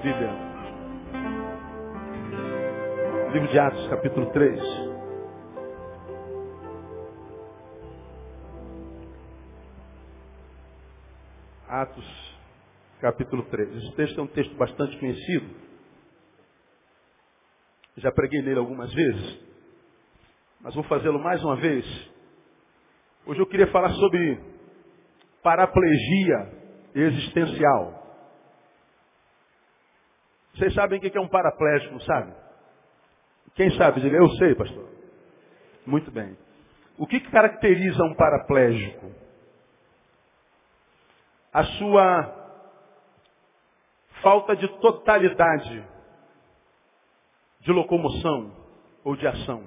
Bíblia. Livro de Atos, capítulo 3. Atos, capítulo 3. Esse texto é um texto bastante conhecido. Já preguei nele algumas vezes, mas vou fazê-lo mais uma vez. Hoje eu queria falar sobre paraplegia existencial. Vocês sabem o que é um paraplégico, não sabe? Quem sabe? Diga, eu sei, pastor. Muito bem. O que caracteriza um paraplégico? A sua falta de totalidade de locomoção ou de ação.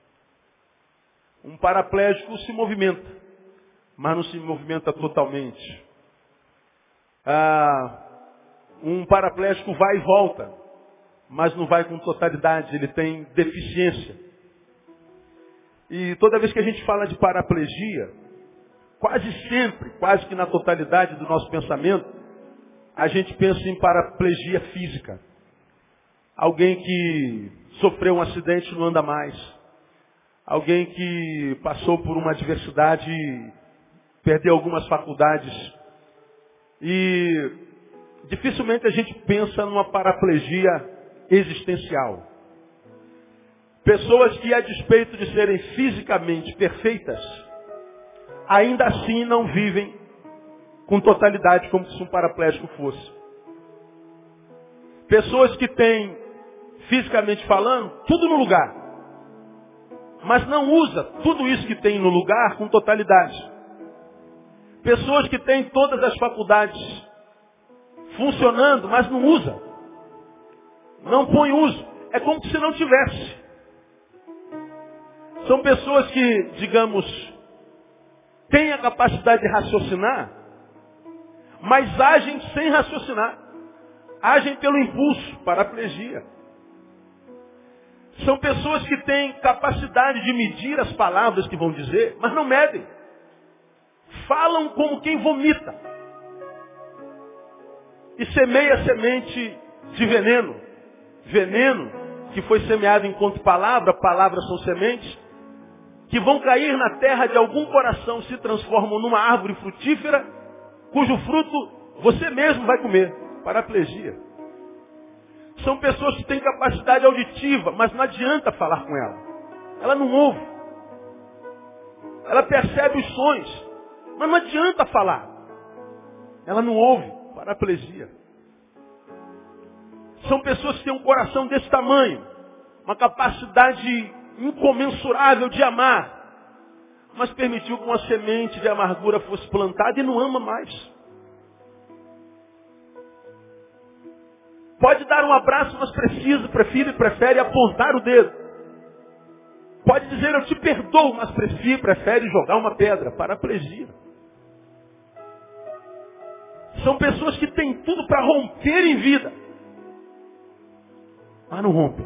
Um paraplégico se movimenta, mas não se movimenta totalmente. Um paraplégico vai e volta, mas não vai com totalidade, ele tem deficiência. E toda vez que a gente fala de paraplegia, quase sempre, quase que na totalidade do nosso pensamento, a gente pensa em paraplegia física. Alguém que sofreu um acidente e não anda mais. Alguém que passou por uma adversidade e perdeu algumas faculdades. E dificilmente a gente pensa numa paraplegia existencial. Pessoas que, a despeito de serem fisicamente perfeitas, ainda assim não vivem com totalidade como se um paraplégico fosse. Pessoas que têm, fisicamente falando, tudo no lugar, mas não usa tudo isso que tem no lugar com totalidade. Pessoas que têm todas as faculdades funcionando, mas não usa. Não põe uso. É como se não tivesse. São pessoas que, digamos, têm a capacidade de raciocinar, mas agem sem raciocinar. Agem pelo impulso, paraplegia. São pessoas que têm capacidade de medir as palavras que vão dizer, mas não medem. Falam como quem vomita. E semeia semente de veneno. Veneno que foi semeado enquanto palavra, palavras são sementes, que vão cair na terra de algum coração, se transformam numa árvore frutífera, cujo fruto você mesmo vai comer. Paraplegia. São pessoas que têm capacidade auditiva, mas não adianta falar com ela. Ela não ouve. Ela percebe os sons, mas não adianta falar. Ela não ouve. Paraplegia. São pessoas que têm um coração desse tamanho, uma capacidade incomensurável de amar, mas permitiu que uma semente de amargura fosse plantada e não ama mais. Pode dar um abraço, mas prefere apontar o dedo. Pode dizer, eu te perdoo, mas prefere jogar uma pedra. Paraplegia. São pessoas que têm tudo para romper em vida, mas não rompem.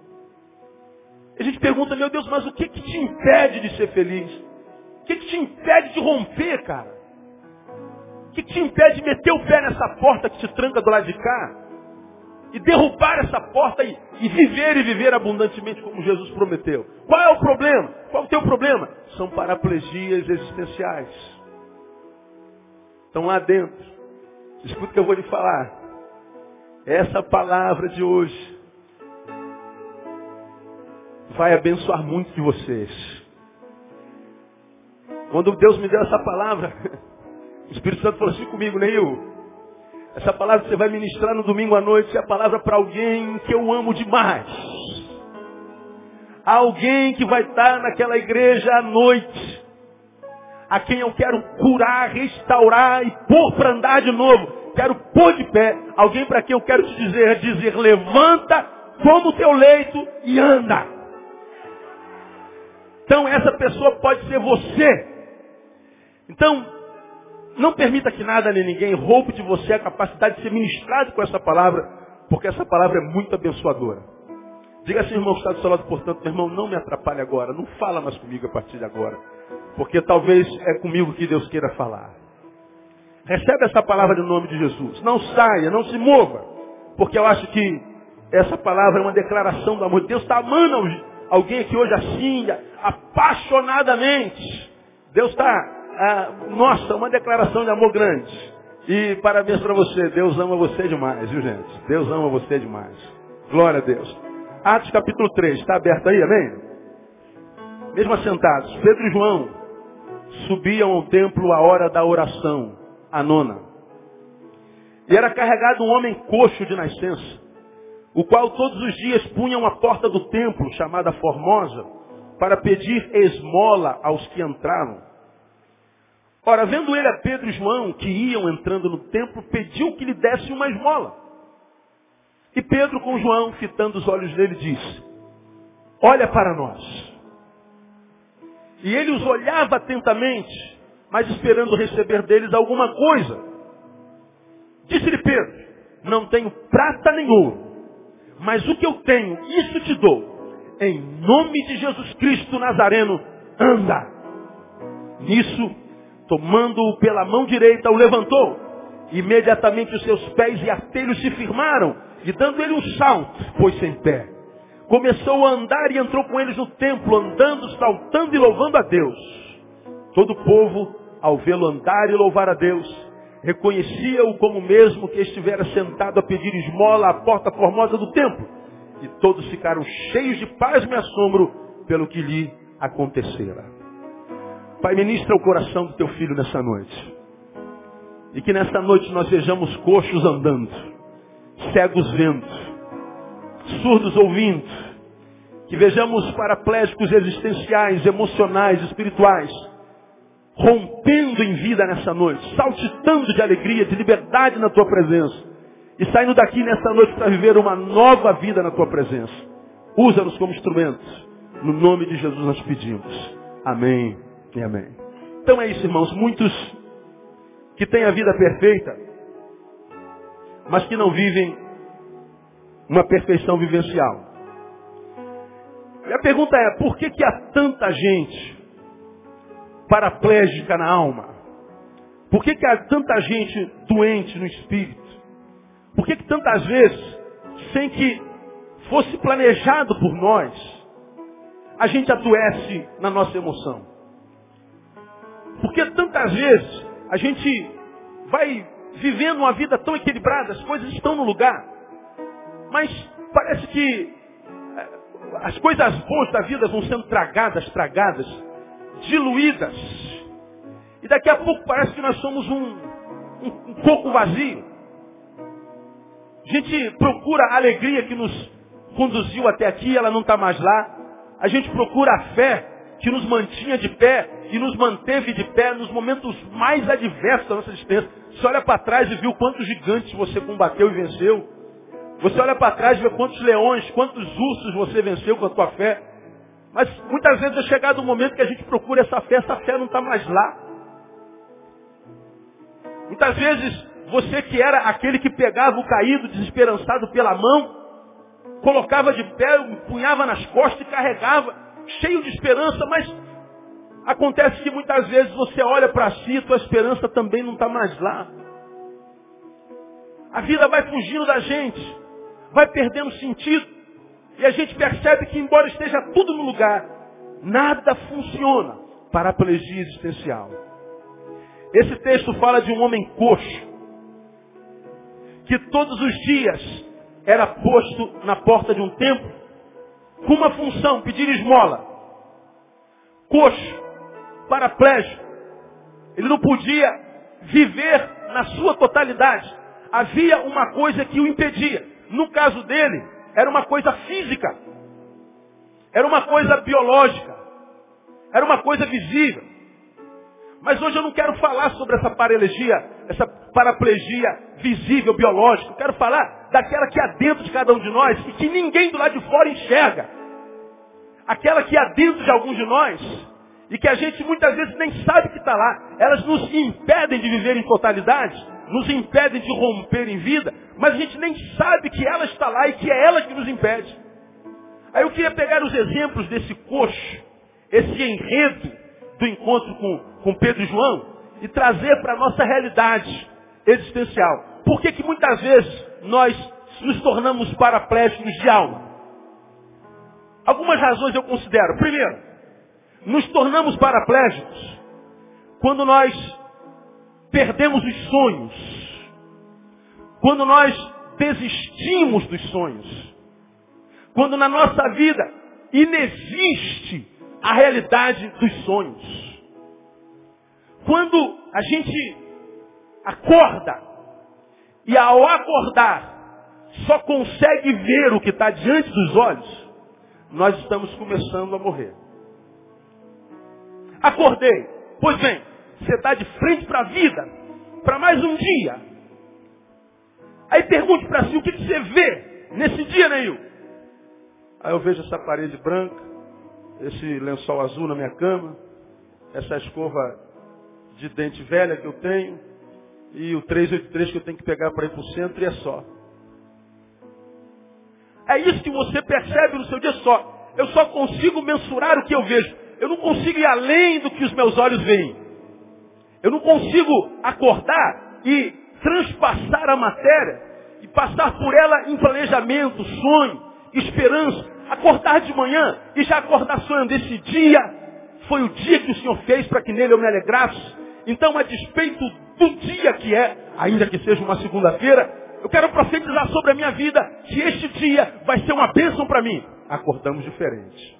A gente pergunta, meu Deus, mas o que te impede de ser feliz? O que te impede de romper, cara? O que te impede de meter o pé nessa porta que te tranca do lado de cá? E derrubar essa porta e viver abundantemente como Jesus prometeu. Qual é o problema? Qual é o teu problema? São paraplegias existenciais. Estão lá dentro. Escuta o que eu vou lhe falar. Essa palavra de hoje vai abençoar muito de vocês. Quando Deus me deu essa palavra, o Espírito Santo falou assim comigo, Neil, essa palavra que você vai ministrar no domingo à noite é a palavra para alguém que eu amo demais. Alguém que vai estar naquela igreja à noite. A quem eu quero curar, restaurar e pôr para andar de novo. Quero pôr de pé. Alguém para quem eu quero te dizer, levanta, toma o teu leito e anda. Então essa pessoa pode ser você. Então, não permita que nada nem ninguém roube de você a capacidade de ser ministrado com essa palavra, porque essa palavra é muito abençoadora. Diga assim, irmão, que está do seu lado, portanto, meu irmão, não me atrapalhe agora, não fala mais comigo a partir de agora, porque talvez é comigo que Deus queira falar. Recebe essa palavra no nome de Jesus. Não saia, não se mova. porque eu acho que essa palavra é uma declaração do amor de Deus. Está amando alguém aqui hoje assim, apaixonadamente. Deus está, nossa, uma declaração de amor grande. E parabéns para você, Deus ama você demais, viu gente? Deus ama você demais. Glória a Deus. Atos capítulo 3, está aberto aí, amém? Mesmo assentados, Pedro e João subiam ao templo à hora da oração, a 9ª. E era carregado um homem coxo de nascença, o qual todos os dias punham a porta do templo, chamada Formosa, para pedir esmola aos que entravam. Ora, vendo ele a Pedro e João, que iam entrando no templo, pediu que lhe desse uma esmola. E Pedro com João, fitando os olhos dele, disse: olha para nós. E ele os olhava atentamente, mas esperando receber deles alguma coisa. Disse-lhe Pedro: não tenho prata nem ouro, mas o que eu tenho, isso te dou. Em nome de Jesus Cristo Nazareno, anda. Nisso, tomando-o pela mão direita, o levantou. Imediatamente os seus pés e artelhos se firmaram, e dando ele um salto, pôs-se em pé. Começou a andar e entrou com eles no templo, andando, saltando e louvando a Deus. Todo o povo, ao vê-lo andar e louvar a Deus, reconhecia-o como mesmo que estivera sentado a pedir esmola à porta formosa do templo. E todos ficaram cheios de pasmo e assombro pelo que lhe acontecera. Pai, ministra o coração do teu filho nessa noite. E que nessa noite nós vejamos coxos andando, cegos vendo, surdos ouvindo. Que vejamos paraplégicos existenciais, emocionais, espirituais, rompendo em vida nessa noite, saltitando de alegria, de liberdade na tua presença. E saindo daqui nessa noite para viver uma nova vida na tua presença. Usa-nos como instrumentos. No nome de Jesus nós pedimos. Amém e amém. Então é isso, irmãos. Muitos que têm a vida perfeita, mas que não vivem uma perfeição vivencial. E a pergunta é, por que há tanta gente paraplégica na alma? Por que há tanta gente doente no espírito? Por que tantas vezes, sem que fosse planejado por nós, a gente adoece na nossa emoção? Por que tantas vezes a gente vai vivendo uma vida tão equilibrada, as coisas estão no lugar, mas parece que as coisas boas da vida vão sendo tragadas, diluídas, e daqui a pouco parece que nós somos um coco vazio. A gente procura a alegria que nos conduziu até aqui, ela não está mais lá. A gente procura a fé que nos mantinha de pé e nos manteve de pé nos momentos mais adversos da nossa existência. Você olha para trás e viu quantos gigantes você combateu e venceu. Você olha para trás e vê quantos leões, quantos ursos você venceu com a tua fé. Mas muitas vezes é chegado o momento que a gente procura essa fé não está mais lá. Muitas vezes você que era aquele que pegava o caído, desesperançado pela mão, colocava de pé, punhava nas costas e carregava, cheio de esperança, mas acontece que muitas vezes você olha para si e tua esperança também não está mais lá. A vida vai fugindo da gente, vai perdendo sentido, e a gente percebe que embora esteja tudo no lugar, nada funciona. Paraplegia existencial. Esse texto fala de um homem coxo, que todos os dias era posto na porta de um templo, com uma função, pedir esmola. Coxo, paraplégico. Ele não podia viver na sua totalidade. Havia uma coisa que o impedia. No caso dele, era uma coisa física. Era uma coisa biológica. Era uma coisa visível. Mas hoje eu não quero falar sobre essa paraplegia visível, biológica. Eu quero falar daquela que há dentro de cada um de nós e que ninguém do lado de fora enxerga. Aquela que há dentro de alguns de nós e que a gente muitas vezes nem sabe que está lá. Elas nos impedem de viver em totalidade, nos impedem de romper em vida, mas a gente nem sabe que ela está lá e que é ela que nos impede. Aí eu queria pegar os exemplos desse coxo, esse enredo do encontro com Pedro e João e trazer para a nossa realidade existencial. Por que muitas vezes nós nos tornamos paraplégicos de alma? Algumas razões eu considero. Primeiro, nos tornamos paraplégicos quando nós perdemos os sonhos. Quando nós desistimos dos sonhos. Quando na nossa vida inexiste a realidade dos sonhos. Quando a gente acorda e ao acordar só consegue ver o que está diante dos olhos, nós estamos começando a morrer. Acordei. Pois bem, você está de frente para a vida, para mais um dia. Aí pergunte para si, o que você vê nesse dia, Neil? Aí eu vejo essa parede branca, esse lençol azul na minha cama, essa escova de dente velha que eu tenho, e o 383 que eu tenho que pegar para ir para o centro, e é só. É isso que você percebe no seu dia só. Eu só consigo mensurar o que eu vejo. Eu não consigo ir além do que os meus olhos veem. Eu não consigo acordar e transpassar a matéria e passar por ela em planejamento, sonho, esperança. Acordar de manhã e já acordar sonhando. Esse dia foi o dia que o Senhor fez para que nele eu me alegrasse. Então, a despeito do dia que é, ainda que seja uma segunda-feira, eu quero profetizar sobre a minha vida que este dia vai ser uma bênção para mim. Acordamos diferente.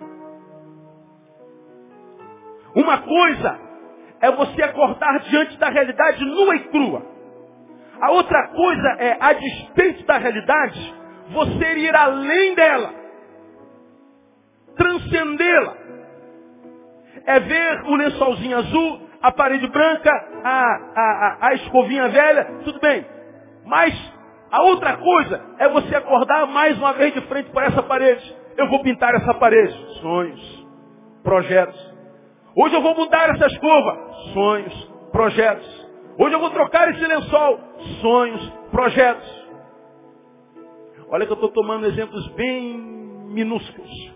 Uma coisa é você acordar diante da realidade nua e crua. A outra coisa é, a despeito da realidade, você ir além dela. Transcendê-la. É ver o lençolzinho azul, a parede branca, a escovinha velha, tudo bem. Mas a outra coisa é você acordar mais uma vez de frente para essa parede. Eu vou pintar essa parede. Sonhos, projetos. Hoje eu vou mudar essa escova. Sonhos, projetos. Hoje eu vou trocar esse lençol. Sonhos, projetos. Olha que eu estou tomando exemplos bem minúsculos.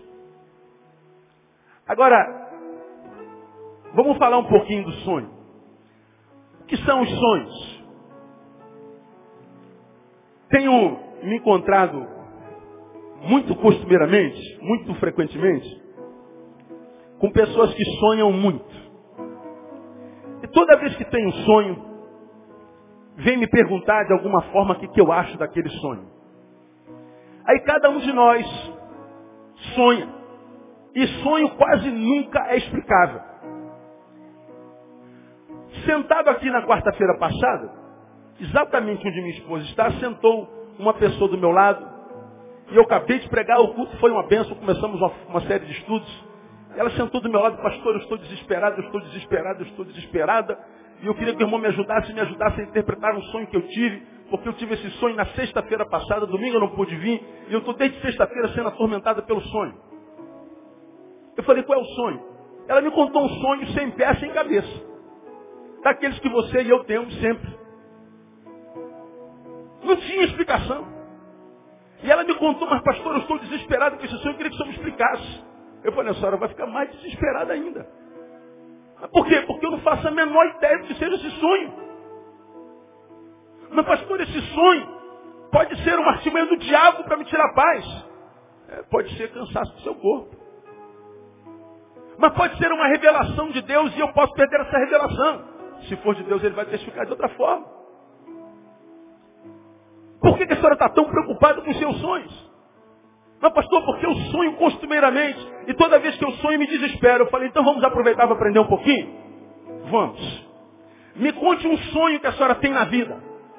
Agora, vamos falar um pouquinho do sonho. O que são os sonhos? Tenho me encontrado muito costumeiramente, muito frequentemente, com pessoas que sonham muito. E toda vez que tem um sonho, vem me perguntar de alguma forma o que eu acho daquele sonho. Aí cada um de nós sonha. E sonho quase nunca é explicável. Sentado aqui na quarta-feira passada, exatamente onde minha esposa está, sentou uma pessoa do meu lado. E eu acabei de pregar, o culto foi uma bênção, começamos uma série de estudos. Ela sentou do meu lado, pastor, eu estou desesperado, eu estou desesperado, eu estou desesperada. E eu queria que o irmão me ajudasse a interpretar um sonho que eu tive, porque eu tive esse sonho na sexta-feira passada, domingo eu não pude vir, e eu estou desde sexta-feira sendo atormentada pelo sonho. Eu falei, qual é o sonho? Ela me contou um sonho sem pé, sem cabeça. Daqueles que você e eu temos sempre. Não tinha explicação. E ela me contou, mas pastor, eu estou desesperado com esse sonho, eu queria que o senhor me explicasse. Eu falei, a senhora vai ficar mais desesperada ainda. Por quê? Porque eu não faço a menor ideia do que seja esse sonho. Mas pastor, esse sonho pode ser uma artimanha do diabo para me tirar a paz. Pode ser cansaço do seu corpo. Mas pode ser uma revelação de Deus e eu posso perder essa revelação. Se for de Deus, ele vai testificar de outra forma. Por que a senhora está tão preocupada com os seus sonhos? Não, pastor, porque eu sonho costumeiramente. E toda vez que eu sonho, me desespero. Eu falei, então vamos aproveitar para aprender um pouquinho? Vamos. Me conte um sonho que a senhora tem na vida.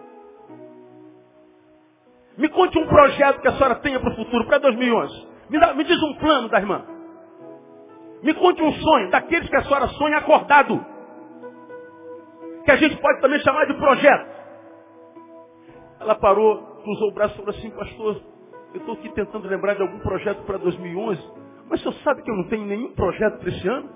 Me conte um projeto que a senhora tenha para o futuro, para 2011. Me diz um plano da irmã. Me conte um sonho, daqueles que a senhora sonha acordado. Que a gente pode também chamar de projeto. Ela parou, cruzou o braço e falou assim, pastor, eu estou aqui tentando lembrar de algum projeto para 2011, mas o senhor sabe que eu não tenho nenhum projeto para esse ano?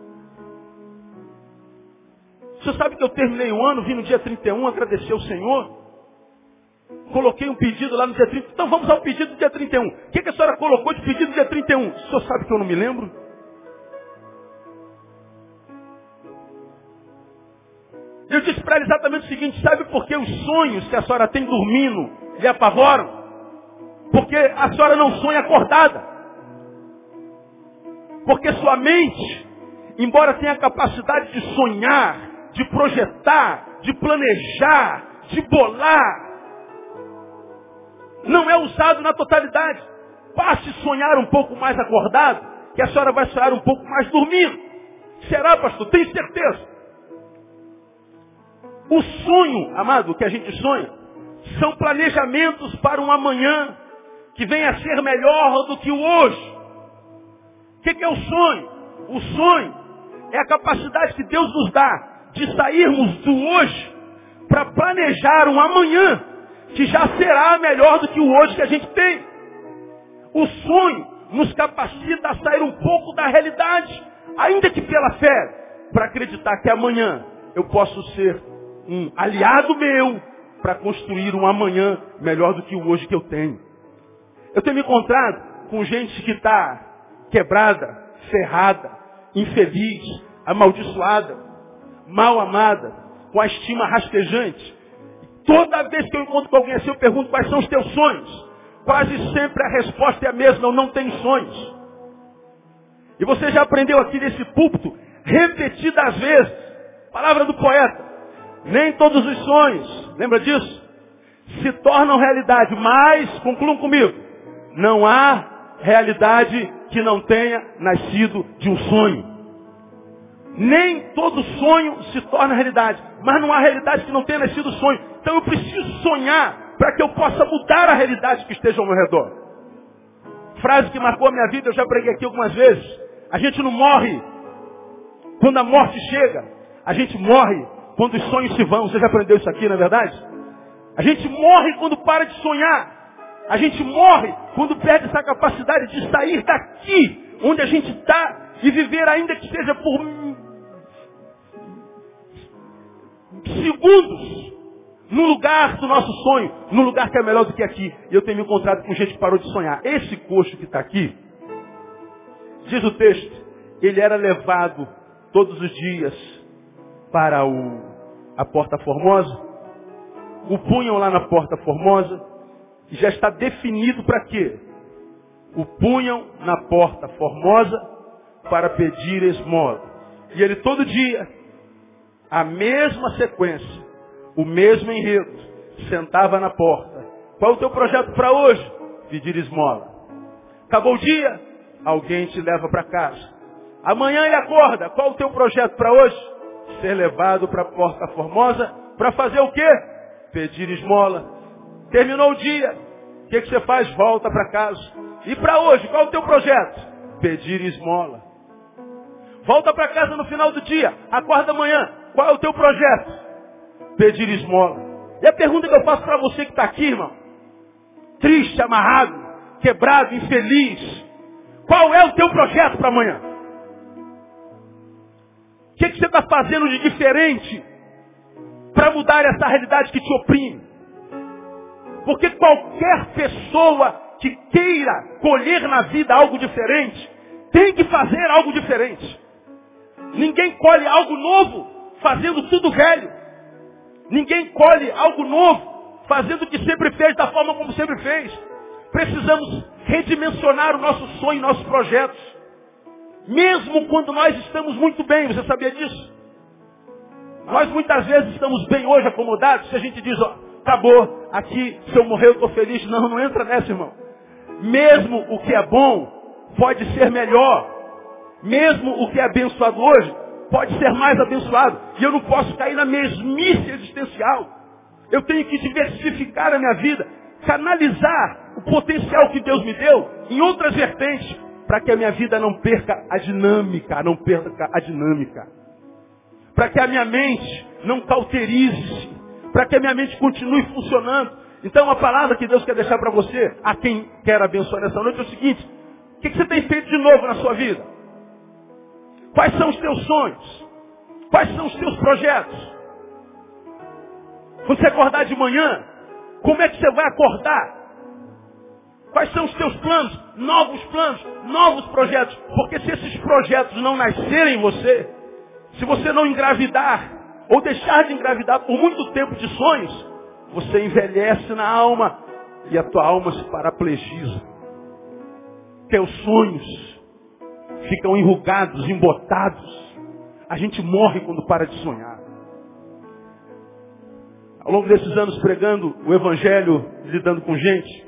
O senhor sabe que eu terminei o ano, vim no dia 31, agradecer ao Senhor, coloquei um pedido lá no dia 30, então vamos ao pedido do dia 31. O que a senhora colocou de pedido no dia 31? O senhor sabe que eu não me lembro? Eu disse para ela exatamente o seguinte, sabe por que os sonhos que a senhora tem dormindo lhe apavoram? Porque a senhora não sonha acordada. Porque sua mente, embora tenha a capacidade de sonhar, de projetar, de planejar, de bolar, não é usado na totalidade. Passe a sonhar um pouco mais acordado, que a senhora vai sonhar um pouco mais dormindo. Será, pastor? Tenho certeza. O sonho, amado, que a gente sonha, são planejamentos para um amanhã que venha a ser melhor do que o hoje. O que é o sonho? O sonho é a capacidade que Deus nos dá de sairmos do hoje para planejar um amanhã que já será melhor do que o hoje que a gente tem. O sonho nos capacita a sair um pouco da realidade, ainda que pela fé, para acreditar que amanhã eu posso ser um aliado meu para construir um amanhã melhor do que o hoje que eu tenho. Eu tenho me encontrado com gente que está quebrada, ferrada, infeliz, amaldiçoada, mal amada, com a estima rastejante. Toda vez que eu encontro com alguém assim, eu pergunto quais são os teus sonhos. Quase sempre a resposta é a mesma, eu não tenho sonhos. E você já aprendeu aqui nesse púlpito, repetidas vezes, palavra do poeta, nem todos os sonhos, lembra disso? Se tornam realidade, mas, concluam comigo, não há realidade que não tenha nascido de um sonho. Nem todo sonho se torna realidade, mas não há realidade que não tenha nascido sonho. Então eu preciso sonhar para que eu possa mudar a realidade que esteja ao meu redor. Frase que marcou a minha vida, eu já preguei aqui algumas vezes. A gente não morre quando a morte chega. A gente morre quando os sonhos se vão. Você já aprendeu isso aqui, não é verdade? A gente morre quando para de sonhar. A gente morre quando perde essa capacidade de sair daqui, onde a gente está, e viver ainda que seja por segundos, no lugar do nosso sonho, no lugar que é melhor do que aqui. E eu tenho me encontrado com gente que parou de sonhar. Esse coxo que está aqui, diz o texto, ele era levado todos os dias para a Porta Formosa, o punham lá na Porta Formosa, e já está definido para quê? O punham na Porta Formosa para pedir esmola. E ele todo dia, a mesma sequência, o mesmo enredo, sentava na porta. Qual é o teu projeto para hoje? Pedir esmola. Acabou o dia, alguém te leva para casa. Amanhã ele acorda. Qual é o teu projeto para hoje? Ser levado para a Porta Formosa para fazer o quê? Pedir esmola. Terminou o dia. O que você faz? Volta para casa. E para hoje, qual é o teu projeto? Pedir esmola. Volta para casa no final do dia. Acorda amanhã. Qual é o teu projeto? Pedir esmola. E a pergunta que eu faço para você que está aqui, irmão, triste, amarrado, quebrado, infeliz, qual é o teu projeto para amanhã? O que você está fazendo de diferente para mudar essa realidade que te oprime? Porque qualquer pessoa que queira colher na vida algo diferente, tem que fazer algo diferente. Ninguém colhe algo novo fazendo tudo velho. Ninguém colhe algo novo fazendo o que sempre fez, da forma como sempre fez. Precisamos redimensionar o nosso sonho, nossos projetos. Mesmo quando nós estamos muito bem, você sabia disso? Nós muitas vezes estamos bem hoje, acomodados, se a gente diz, ó, acabou, aqui, se eu morrer eu estou feliz. Não, não entra nessa, irmão. Mesmo o que é bom pode ser melhor. Mesmo o que é abençoado hoje pode ser mais abençoado. E eu não posso cair na mesmice existencial. Eu tenho que diversificar a minha vida, canalizar o potencial que Deus me deu em outras vertentes, para que a minha vida não perca a dinâmica, para que a minha mente não cauterize-se, para que a minha mente continue funcionando. Então a palavra que Deus quer deixar para você, a quem quer abençoar nessa noite, é o seguinte: o que você tem feito de novo na sua vida? Quais são os teus sonhos? Quais são os teus projetos? Quando você acordar de manhã, como é que você vai acordar? Quais são os teus planos, novos projetos? Porque se esses projetos não nascerem em você, se você não engravidar, ou deixar de engravidar por muito tempo de sonhos, você envelhece na alma, e a tua alma se paraplegiza. Teus sonhos ficam enrugados, embotados. A gente morre quando para de sonhar. Ao longo desses anos pregando o Evangelho, lidando com gente,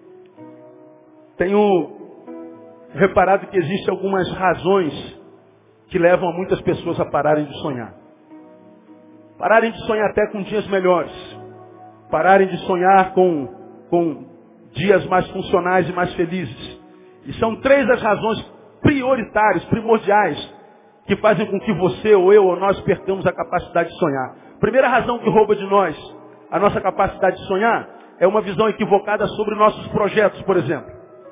tenho reparado que existem algumas razões que levam a muitas pessoas a pararem de sonhar. Pararem de sonhar até com dias melhores. Pararem de sonhar com dias mais funcionais e mais felizes. E são 3 as razões prioritárias, primordiais, que fazem com que você, ou eu, ou nós percamos a capacidade de sonhar. Primeira razão que rouba de nós a nossa capacidade de sonhar é uma visão equivocada sobre nossos projetos, por exemplo.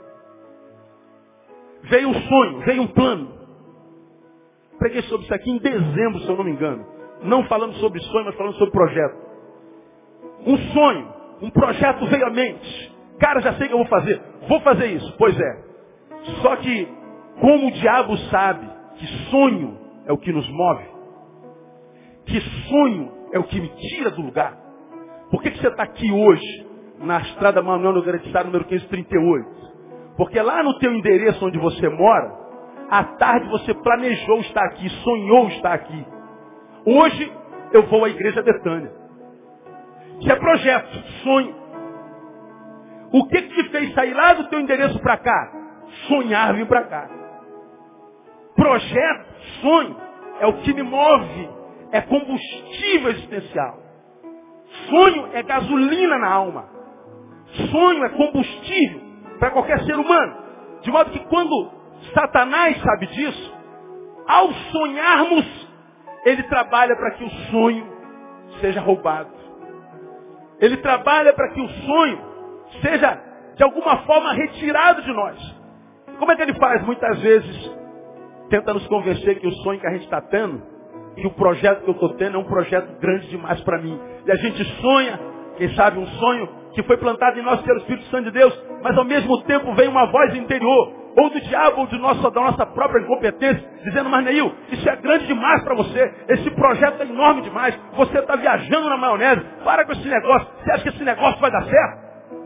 Veio um sonho, veio um plano. Preguei sobre isso aqui em dezembro, se eu não me engano. Não falando sobre sonho, mas falando sobre projeto. Um sonho, um projeto veio à mente. Cara, já sei o que eu vou fazer. Vou fazer isso. Pois é. Só que, como o diabo sabe que sonho é o que nos move, que sonho é o que me tira do lugar. Por que você está aqui hoje, na estrada Manuel Nogueira de Sá, número 538? Porque lá no teu endereço onde você mora, à tarde você planejou estar aqui, sonhou estar aqui. Hoje eu vou à igreja Betânia. Isso é projeto, sonho. O que te fez sair lá do teu endereço para cá? Sonhar vir para cá. Projeto, sonho, é o que me move. É combustível existencial. Sonho é gasolina na alma. Sonho é combustível para qualquer ser humano. De modo que quando Satanás sabe disso, ao sonharmos, ele trabalha para que o sonho seja roubado. Ele trabalha para que o sonho seja, de alguma forma, retirado de nós. Como é que ele faz? Muitas vezes, tenta nos convencer que o sonho que a gente está tendo, que o projeto que eu estou tendo é um projeto grande demais para mim. E a gente sonha, quem sabe um sonho que foi plantado em nós pelo Espírito Santo de Deus, mas ao mesmo tempo vem uma voz interior, ou do diabo, ou da nossa própria incompetência, dizendo, mas Neil, isso é grande demais para você, esse projeto é enorme demais, você está viajando na maionese, para com esse negócio, você acha que esse negócio vai dar certo?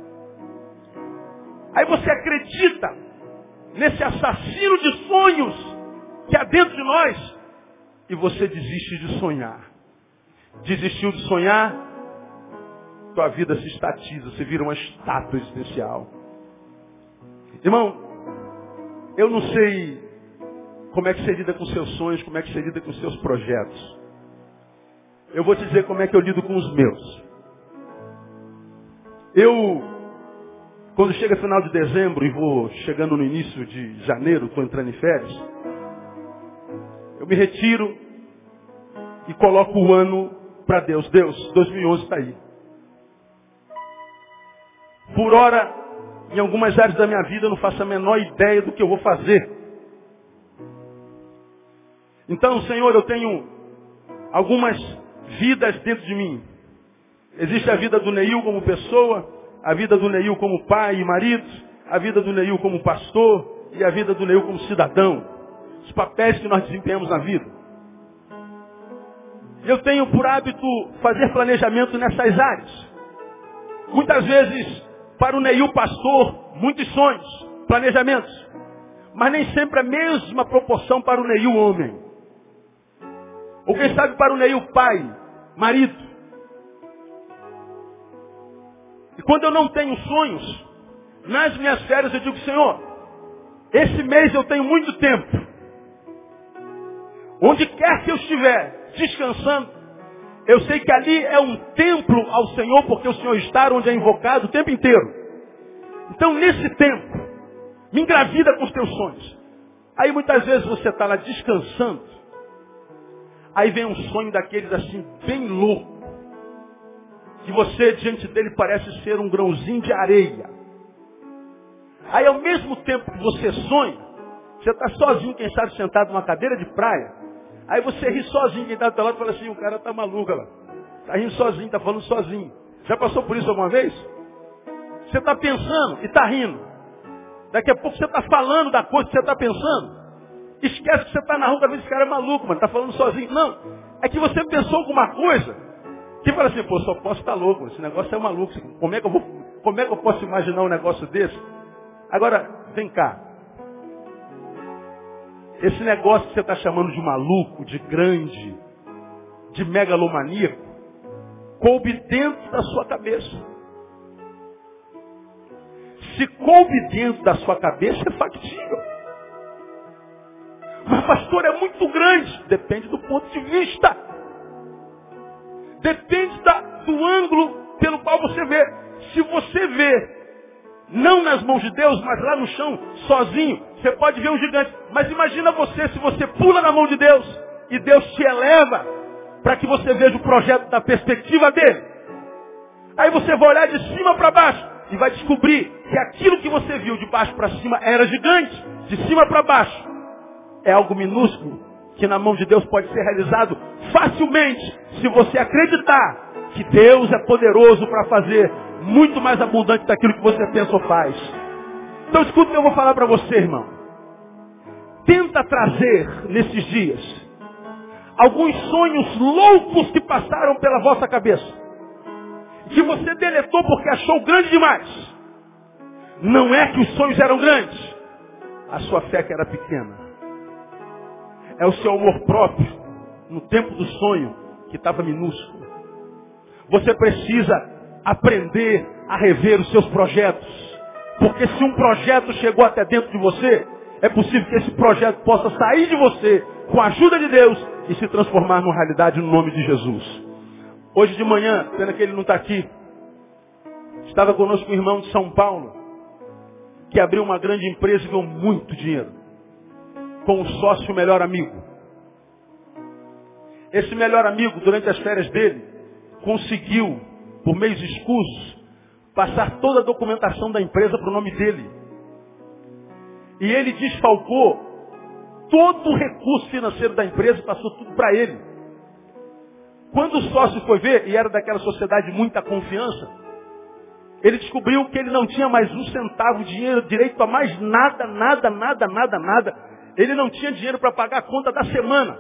Aí você acredita nesse assassino de sonhos que há dentro de nós, e você desiste de sonhar. Desistiu de sonhar, tua vida se estatiza, você vira uma estátua existencial. Irmão, eu não sei como é que você lida com seus sonhos, como é que você lida com seus projetos. Eu vou te dizer como é que eu lido com os meus. Quando chega final de dezembro e vou chegando no início de janeiro, estou entrando em férias, eu me retiro e coloco o ano para Deus. Deus, 2011 está aí. Por hora, em algumas áreas da minha vida, eu não faço a menor ideia do que eu vou fazer. Então, Senhor, eu tenho algumas vidas dentro de mim. Existe a vida do Neil como pessoa, a vida do Neil como pai e marido, a vida do Neil como pastor e a vida do Neil como cidadão. Os papéis que nós desempenhamos na vida. Eu tenho por hábito fazer planejamento nessas áreas. Muitas vezes, para o Neil pastor, muitos sonhos, planejamentos. Mas nem sempre a mesma proporção para o Neil homem. Ou quem sabe para o Neil pai, marido. E quando eu não tenho sonhos, nas minhas férias eu digo, Senhor, esse mês eu tenho muito tempo. Onde quer que eu estiver descansando, eu sei que ali é um templo ao Senhor, porque o Senhor está onde é invocado o tempo inteiro. Então, nesse tempo, me engravida com os teus sonhos. Aí muitas vezes você está lá descansando, aí vem um sonho daqueles assim, bem louco, que você diante dele parece ser um grãozinho de areia. Aí ao mesmo tempo que você sonha, você está sozinho, quem sabe, sentado numa cadeira de praia. Aí você ri sozinho, quem está do teu lado fala assim, o cara está maluco, lá. Está rindo sozinho, está falando sozinho. Já passou por isso alguma vez? Você está pensando e está rindo. Daqui a pouco você está falando da coisa que você está pensando. Esquece que você está na rua, às vezes esse cara é maluco, mano, está falando sozinho. Não, é que você pensou alguma coisa que fala assim, pô, só posso estar louco, esse negócio é maluco. Como é que eu vou Como é que eu posso imaginar um negócio desse? Agora, vem cá. Esse negócio que você está chamando de maluco, de grande, de megalomaníaco, coube dentro da sua cabeça. Se coube dentro da sua cabeça, é factível. Mas, pastor, é muito grande. Depende do ponto de vista. Depende do ângulo pelo qual você vê. Se você vê, não nas mãos de Deus, mas lá no chão, sozinho, você pode ver um gigante. Mas imagina você, se você pula na mão de Deus, e Deus te eleva, para que você veja o projeto da perspectiva dele. Aí você vai olhar de cima para baixo, e vai descobrir que aquilo que você viu de baixo para cima era gigante. De cima para baixo é algo minúsculo, que na mão de Deus pode ser realizado facilmente, se você acreditar que Deus é poderoso para fazer muito mais abundante daquilo que você pensa ou faz. Então escuta o que eu vou falar para você, irmão. Tenta trazer nesses dias alguns sonhos loucos que passaram pela vossa cabeça, que você deletou porque achou grande demais. Não é que os sonhos eram grandes, a sua fé que era pequena. É o seu amor próprio, no tempo do sonho, que estava minúsculo. Você precisa aprender a rever os seus projetos. Porque se um projeto chegou até dentro de você, é possível que esse projeto possa sair de você, com a ajuda de Deus, e se transformar numa realidade no nome de Jesus. Hoje de manhã, pena que ele não está aqui, estava conosco um irmão de São Paulo, que abriu uma grande empresa e ganhou muito dinheiro, com um sócio melhor amigo. Esse melhor amigo, durante as férias dele, conseguiu, por meios escusos, passar toda a documentação da empresa para o nome dele. E ele desfalcou todo o recurso financeiro da empresa e passou tudo para ele. Quando o sócio foi ver, e era daquela sociedade de muita confiança, ele descobriu que ele não tinha mais um centavo de dinheiro, direito a mais nada. Ele não tinha dinheiro para pagar a conta da semana.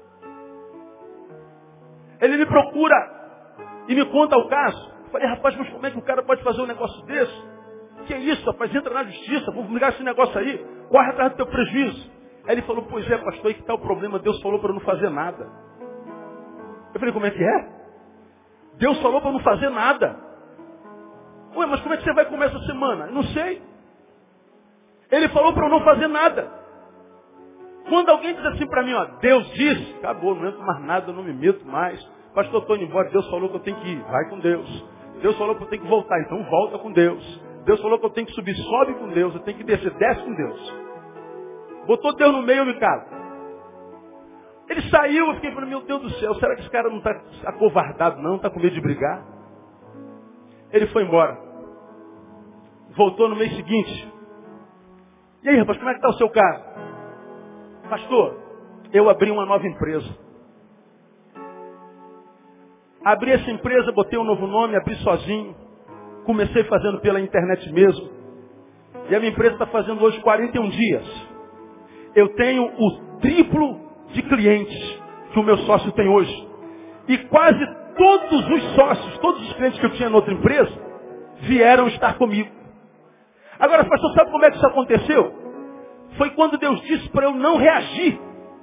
Ele me procura e me conta o caso. Eu falei, rapaz, mas como é que o cara pode fazer um negócio desse? Que é isso, rapaz? Entra na justiça, vou ligar esse negócio aí, corre atrás do teu prejuízo. Aí ele falou, pois é, pastor, aí que está o problema, Deus falou para eu não fazer nada. Eu falei, como é que é? Deus falou para eu não fazer nada. Ué, mas como é que você vai comer essa semana? Eu não sei. Ele falou para eu não fazer nada. Quando alguém diz assim para mim, ó, Deus disse, acabou, não entro mais nada, eu não me meto mais. Pastor, estou indo embora, Deus falou que eu tenho que ir, vai com Deus. Deus falou que eu tenho que voltar, então volta com Deus. Deus falou que eu tenho que subir, sobe com Deus. Eu tenho que descer, desce com Deus. Botou Deus no meio, eu me calo. Ele saiu, eu fiquei falando, meu Deus do céu, será que esse cara não está acovardado não? Está com medo de brigar? Ele foi embora. Voltou no mês seguinte. E aí, rapaz, como é que está o seu caso? Pastor, eu abri uma nova empresa. Abri essa empresa, botei um novo nome, abri sozinho. Comecei fazendo pela internet mesmo. E a minha empresa está fazendo hoje 41 dias. Eu tenho o triplo de clientes que o meu sócio tem hoje. E quase todos os sócios, todos os clientes que eu tinha na outra empresa, vieram estar comigo. Agora, pastor, sabe como é que isso aconteceu? Foi quando Deus disse para eu não reagir.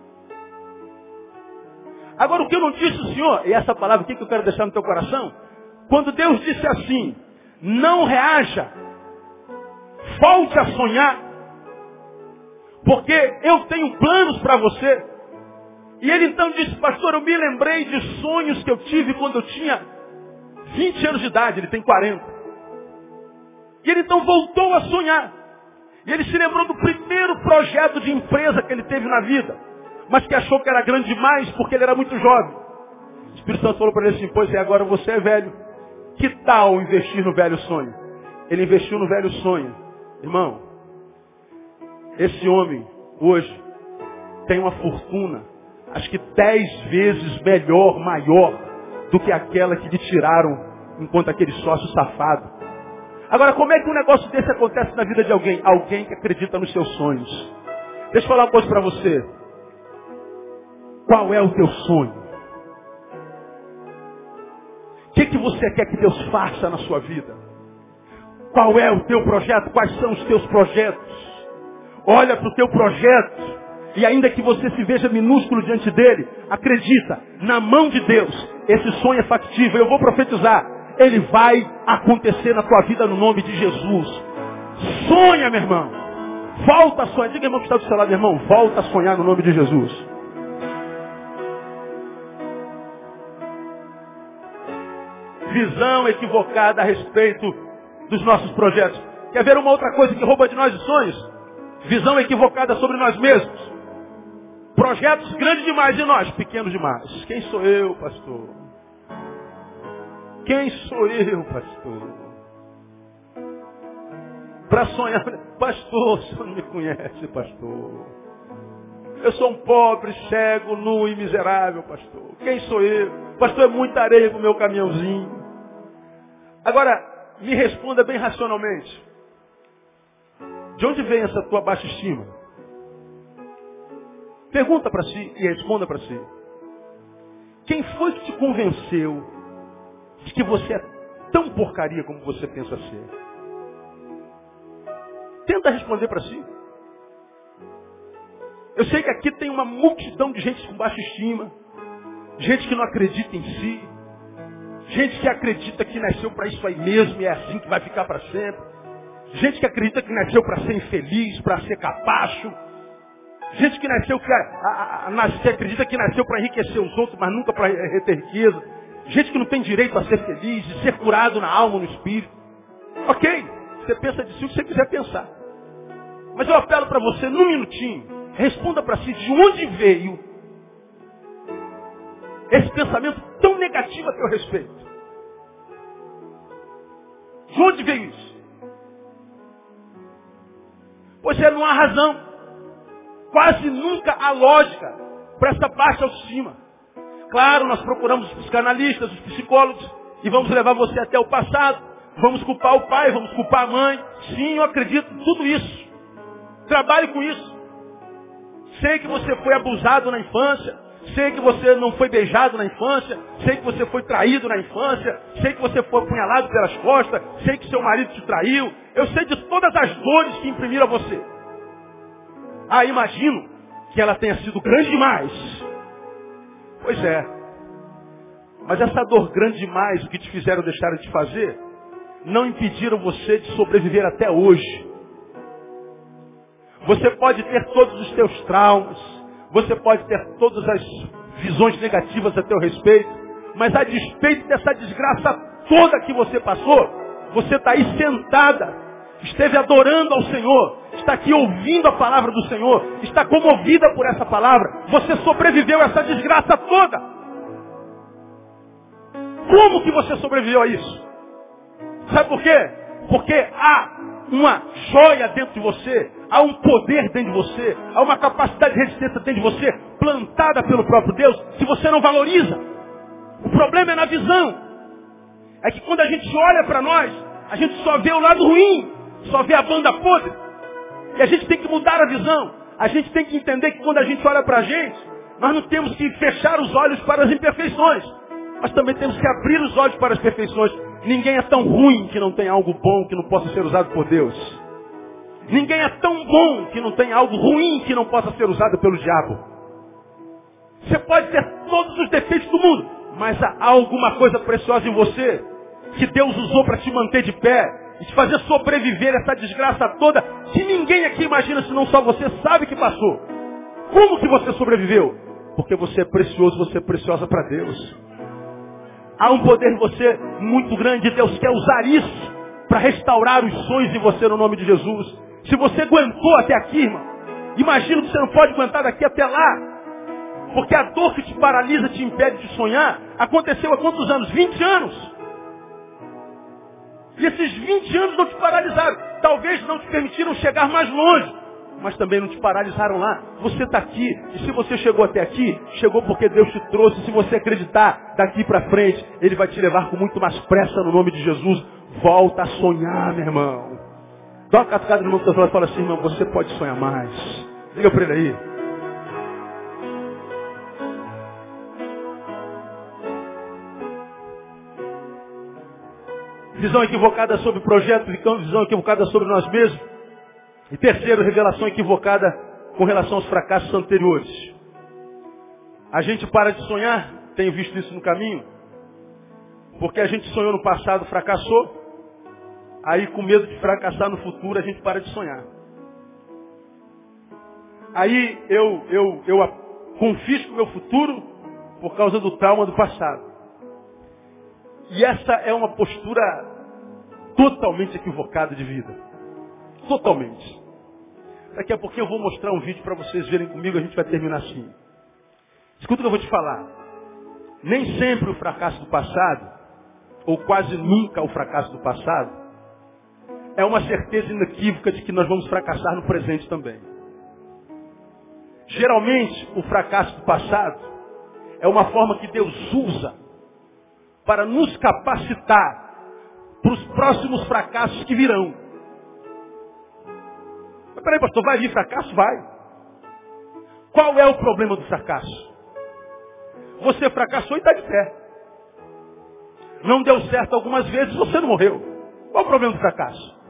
Agora, o que eu não disse, Senhor, e essa palavra aqui que eu quero deixar no teu coração, quando Deus disse assim, não reaja, volte a sonhar, porque eu tenho planos para você. E ele então disse, pastor, eu me lembrei de sonhos que eu tive quando eu tinha 20 anos de idade, ele tem 40. E ele então voltou a sonhar. E ele se lembrou do primeiro projeto de empresa que ele teve na vida, mas que achou que era grande demais porque ele era muito jovem. O Espírito Santo falou para ele assim, pois é, agora você é velho. Que tal investir no velho sonho? Ele investiu no velho sonho. Irmão, esse homem hoje tem uma fortuna, acho que 10 vezes melhor, maior, do que aquela que lhe tiraram enquanto aquele sócio safado. Agora, como é que um negócio desse acontece na vida de alguém? Alguém que acredita nos seus sonhos. Deixa eu falar uma coisa para você. Qual é o teu sonho? O que você quer que Deus faça na sua vida? Qual é o teu projeto? Quais são os teus projetos? Olha para o teu projeto. E ainda que você se veja minúsculo diante dele, acredita, na mão de Deus, esse sonho é factível. Eu vou profetizar. Ele vai acontecer na tua vida no nome de Jesus. Sonha, meu irmão. Volta a sonhar. Diga, irmão, que está do seu lado, meu irmão. Volta a sonhar no nome de Jesus. Visão equivocada a respeito dos nossos projetos. Quer ver uma outra coisa que rouba de nós os sonhos? Visão equivocada sobre nós mesmos. Projetos grandes demais e nós pequenos demais. Quem sou eu, pastor? Quem sou eu, pastor? Para sonhar, pastor, o senhor não me conhece, pastor. Eu sou um pobre, cego, nu e miserável, pastor. Quem sou eu? Pastor, é muita areia no meu caminhãozinho. Agora, me responda bem racionalmente. De onde vem essa tua baixa estima? Pergunta para si e responda para si. Quem foi que te convenceu de que você é tão porcaria como você pensa ser? Tenta responder para si. Eu sei que aqui tem uma multidão de gente com baixa estima, gente que não acredita em si, gente que acredita que nasceu para isso aí mesmo e é assim que vai ficar para sempre, gente que acredita que nasceu para ser infeliz, para ser capacho, gente que nasceu que acredita que nasceu para enriquecer os outros, mas nunca para reter riqueza, gente que não tem direito a ser feliz, de ser curado na alma, no espírito. Ok, você pensa de si o que você quiser pensar. Mas eu apelo para você, num minutinho, responda para si de onde veio esse pensamento tão negativo a teu respeito. De onde veio isso? Pois é, não há razão. Quase nunca há lógica para essa baixa autoestima. Claro, nós procuramos os psicanalistas, os psicólogos, e vamos levar você até o passado. Vamos culpar o pai, vamos culpar a mãe. Sim, eu acredito em tudo isso. Trabalhe com isso. Sei que você foi abusado na infância. Sei que você não foi beijado na infância. Sei que você foi traído na infância. Sei que você foi apunhalado pelas costas. Sei que seu marido te traiu. Eu sei de todas as dores que imprimiram a você. Ah, imagino que ela tenha sido grande demais. Pois é. Mas essa dor grande demais, o que te fizeram deixar de fazer, não impediram você de sobreviver até hoje. Você pode ter todos os teus traumas, você pode ter todas as visões negativas a teu respeito, mas a despeito dessa desgraça toda que você passou, você está aí sentada, esteve adorando ao Senhor, está aqui ouvindo a palavra do Senhor, está comovida por essa palavra, você sobreviveu a essa desgraça toda. Como que você sobreviveu a isso? Sabe por quê? Porque há uma joia dentro de você, há um poder dentro de você, há uma capacidade de resistência dentro de você, plantada pelo próprio Deus, que você não valoriza. O problema é na visão. É que quando a gente olha para nós, a gente só vê o lado ruim, só vê a banda podre. E a gente tem que mudar a visão. A gente tem que entender que quando a gente olha para a gente, nós não temos que fechar os olhos para as imperfeições, mas também temos que abrir os olhos para as perfeições. Ninguém é tão ruim que não tenha algo bom que não possa ser usado por Deus. Ninguém é tão bom que não tenha algo ruim que não possa ser usado pelo diabo. Você pode ter todos os defeitos do mundo, mas há alguma coisa preciosa em você que Deus usou para te manter de pé e te fazer sobreviver essa desgraça toda que ninguém aqui imagina, senão só você sabe que passou. Como que você sobreviveu? Porque você é precioso, você é preciosa para Deus. Há um poder em você muito grande. Deus quer usar isso para restaurar os sonhos em você no nome de Jesus. Se você aguentou até aqui, irmão, imagina que você não pode aguentar daqui até lá. Porque a dor que te paralisa, te impede de sonhar, aconteceu há quantos anos? 20 anos. E esses 20 anos não te paralisaram. Talvez não te permitiram chegar mais longe, mas também não te paralisaram lá. Você está aqui, e se você chegou até aqui, chegou porque Deus te trouxe. Se você acreditar daqui para frente, Ele vai te levar com muito mais pressa no nome de Jesus. Volta a sonhar, meu irmão. Dá uma catucada no irmão e fala assim, irmão, você pode sonhar mais. Diga para ele aí. Visão equivocada sobre o projeto, visão equivocada sobre nós mesmos. E terceiro, revelação equivocada com relação aos fracassos anteriores. A gente para de sonhar, tenho visto isso no caminho, porque a gente sonhou no passado, fracassou, aí com medo de fracassar no futuro a gente para de sonhar. Aí eu confisco meu futuro por causa do trauma do passado. E essa é uma postura totalmente equivocada de vida. Totalmente. Daqui a pouquinho eu vou mostrar um vídeo para vocês verem comigo, a gente vai terminar assim. Escuta o que eu vou te falar. Nem sempre o fracasso do passado, ou quase nunca o fracasso do passado, é uma certeza inequívoca de que nós vamos fracassar no presente também. Geralmente, o fracasso do passado é uma forma que Deus usa para nos capacitar para os próximos fracassos que virão. Mas peraí, pastor, vai vir fracasso? Vai. Qual é o problema do fracasso? Você fracassou e está de pé. Não deu certo algumas vezes, você não morreu. Qual é o problema do fracasso?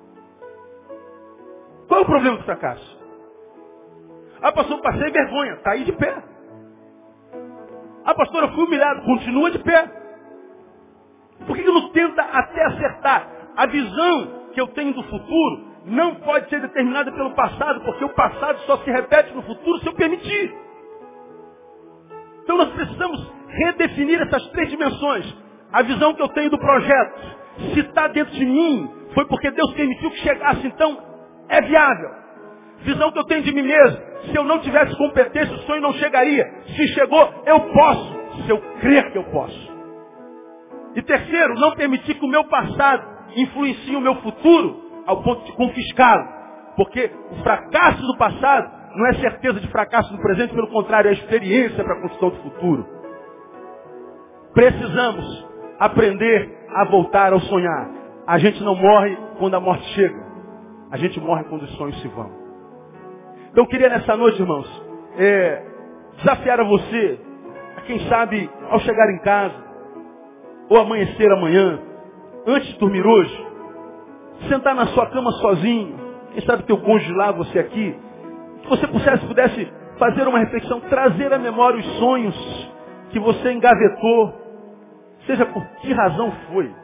Qual é o problema do fracasso? Ah, pastor, passei vergonha. Está aí de pé. Ah, pastor, eu fui humilhado. Continua de pé. Por que não tenta até acertar? A visão que eu tenho do futuro não pode ser determinada pelo passado, porque o passado só se repete no futuro se eu permitir. Então nós precisamos redefinir essas três dimensões. A visão que eu tenho do projeto, se está dentro de mim, foi porque Deus permitiu que chegasse, então é viável. Visão que eu tenho de mim mesmo, se eu não tivesse competência, o sonho não chegaria. Se chegou, eu posso, se eu crer que eu posso. E terceiro, não permitir que o meu passado influencie o meu futuro ao ponto de confiscá-lo. Porque o fracasso do passado não é certeza de fracasso no presente, pelo contrário, é experiência para a construção do futuro. Precisamos aprender a voltar ao sonhar. A gente não morre quando a morte chega. A gente morre quando os sonhos se vão. Então eu queria nessa noite, irmãos, desafiar a você, a quem sabe, ao chegar em casa, ou amanhecer amanhã, antes de dormir hoje, sentar na sua cama sozinho, quem sabe teu cônjuge lá, você aqui, que você pudesse fazer uma reflexão, trazer à memória os sonhos que você engavetou, seja por que razão foi.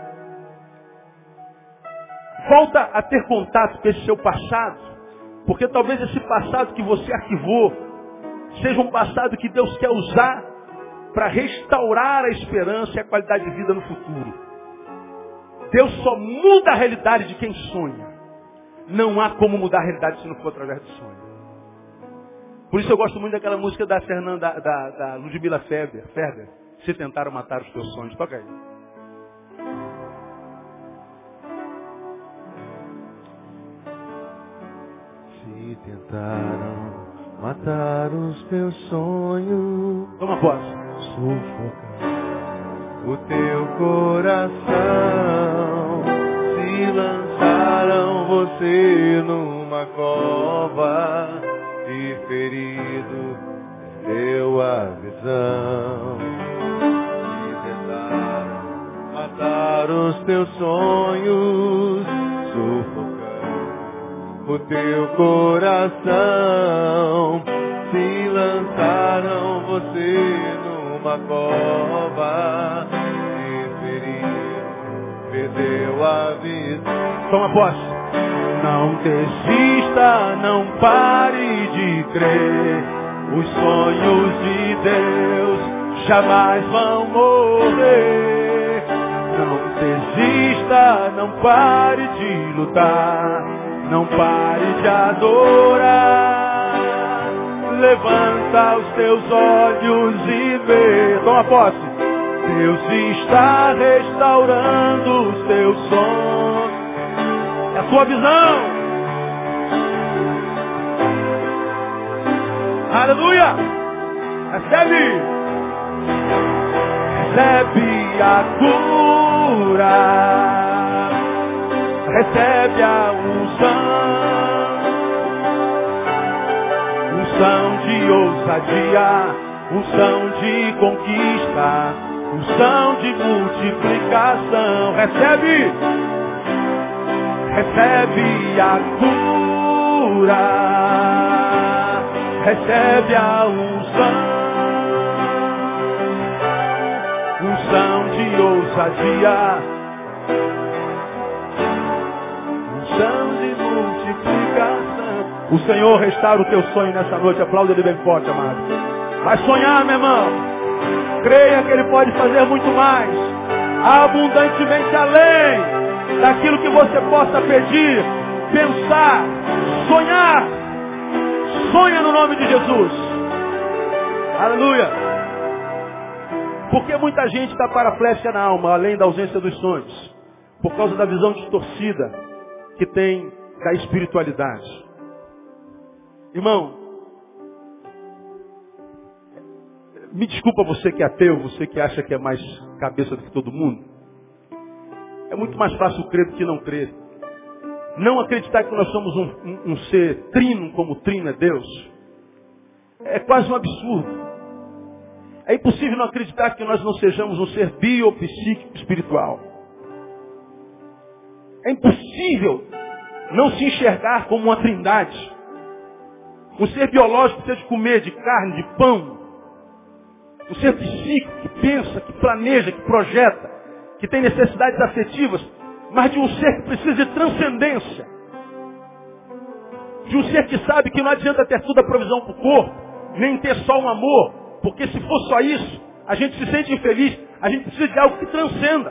Volta a ter contato com esse seu passado, porque talvez esse passado que você arquivou seja um passado que Deus quer usar para restaurar a esperança e a qualidade de vida no futuro. Deus só muda a realidade de quem sonha. Não há como mudar a realidade se não for através do sonho. Por isso eu gosto muito daquela música da da Ludmila Ferber. Se tentaram matar os teus sonhos. Toca aí. Se tentaram matar os teus sonhos, Toma posse. sufocar o teu coração, se lançaram você numa cova, e ferido deu a visão. Se tentaram matar os teus sonhos, sufocando o teu coração, se lançaram você numa cova, e ferido perdeu a vida. Toma posse. Não desista, não pare de crer. Os sonhos de Deus jamais vão morrer. Não desista, não pare de lutar. Não pare de adorar. Levanta os teus olhos e vê. Toma posse. Deus está restaurando os teus sonhos. É a tua visão. Aleluia. Recebe. Recebe a cura. Recebe a unção de ousadia, unção de conquista, unção de multiplicação. Recebe a cura, recebe a unção de ousadia, unção de multiplicação. O Senhor restaura o teu sonho nessa noite. Aplauda Ele bem forte, amado. Vai sonhar, meu irmão. Creia que Ele pode fazer muito mais, abundantemente além daquilo que você possa pedir, pensar, sonhar. Sonha no nome de Jesus. Aleluia. Porque muita gente está paraplégica na alma, além da ausência dos sonhos, por causa da visão distorcida que tem da espiritualidade. Irmão, me desculpa você que é ateu, você que acha que é mais cabeça do que todo mundo. É muito mais fácil crer do que não crer. Não acreditar que nós somos um ser trino, como o trino é Deus, é quase um absurdo. É impossível não acreditar que nós não sejamos um ser biopsíquico espiritual. É impossível não se enxergar como uma trindade. Um ser biológico precisa de comer, de carne, de pão. Um ser psíquico que pensa, que planeja, que projeta, que tem necessidades afetivas, mas de um ser que precisa de transcendência. De um ser que sabe que não adianta ter toda a provisão para o corpo, nem ter só um amor, porque se for só isso, a gente se sente infeliz, a gente precisa de algo que transcenda.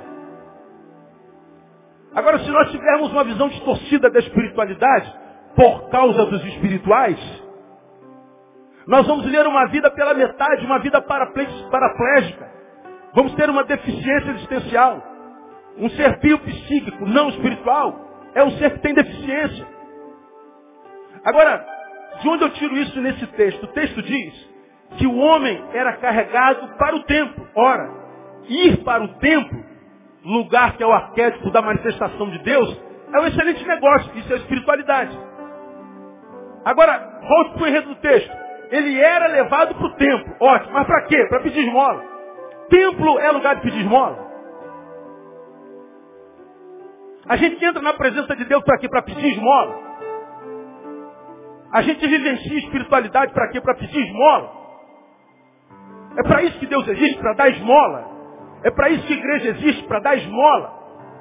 Agora, se nós tivermos uma visão distorcida da espiritualidade, por causa dos espirituais, nós vamos viver uma vida pela metade, uma vida paraplégica. Vamos ter uma deficiência existencial. Um ser biopsíquico, não espiritual, é um ser que tem deficiência. Agora, de onde eu tiro isso nesse texto? O texto diz que o homem era carregado para o templo. Ora, ir para o templo, lugar que é o arquétipo da manifestação de Deus, é um excelente negócio. Isso é espiritualidade. Agora, volte para o enredo do texto. Ele era levado para o templo. Ótimo, mas para quê? Para pedir esmola. Templo é lugar de pedir esmola. A gente entra na presença de Deus para quê? Para pedir esmola. A gente vivencia espiritualidade para quê? Para pedir esmola. É para isso que Deus existe, para dar esmola. É para isso que a igreja existe, para dar esmola.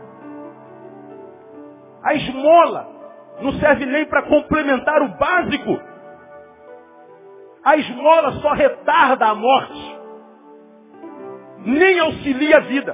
A esmola não serve nem para complementar o básico. A esmola só retarda a morte. Nem auxilia a vida.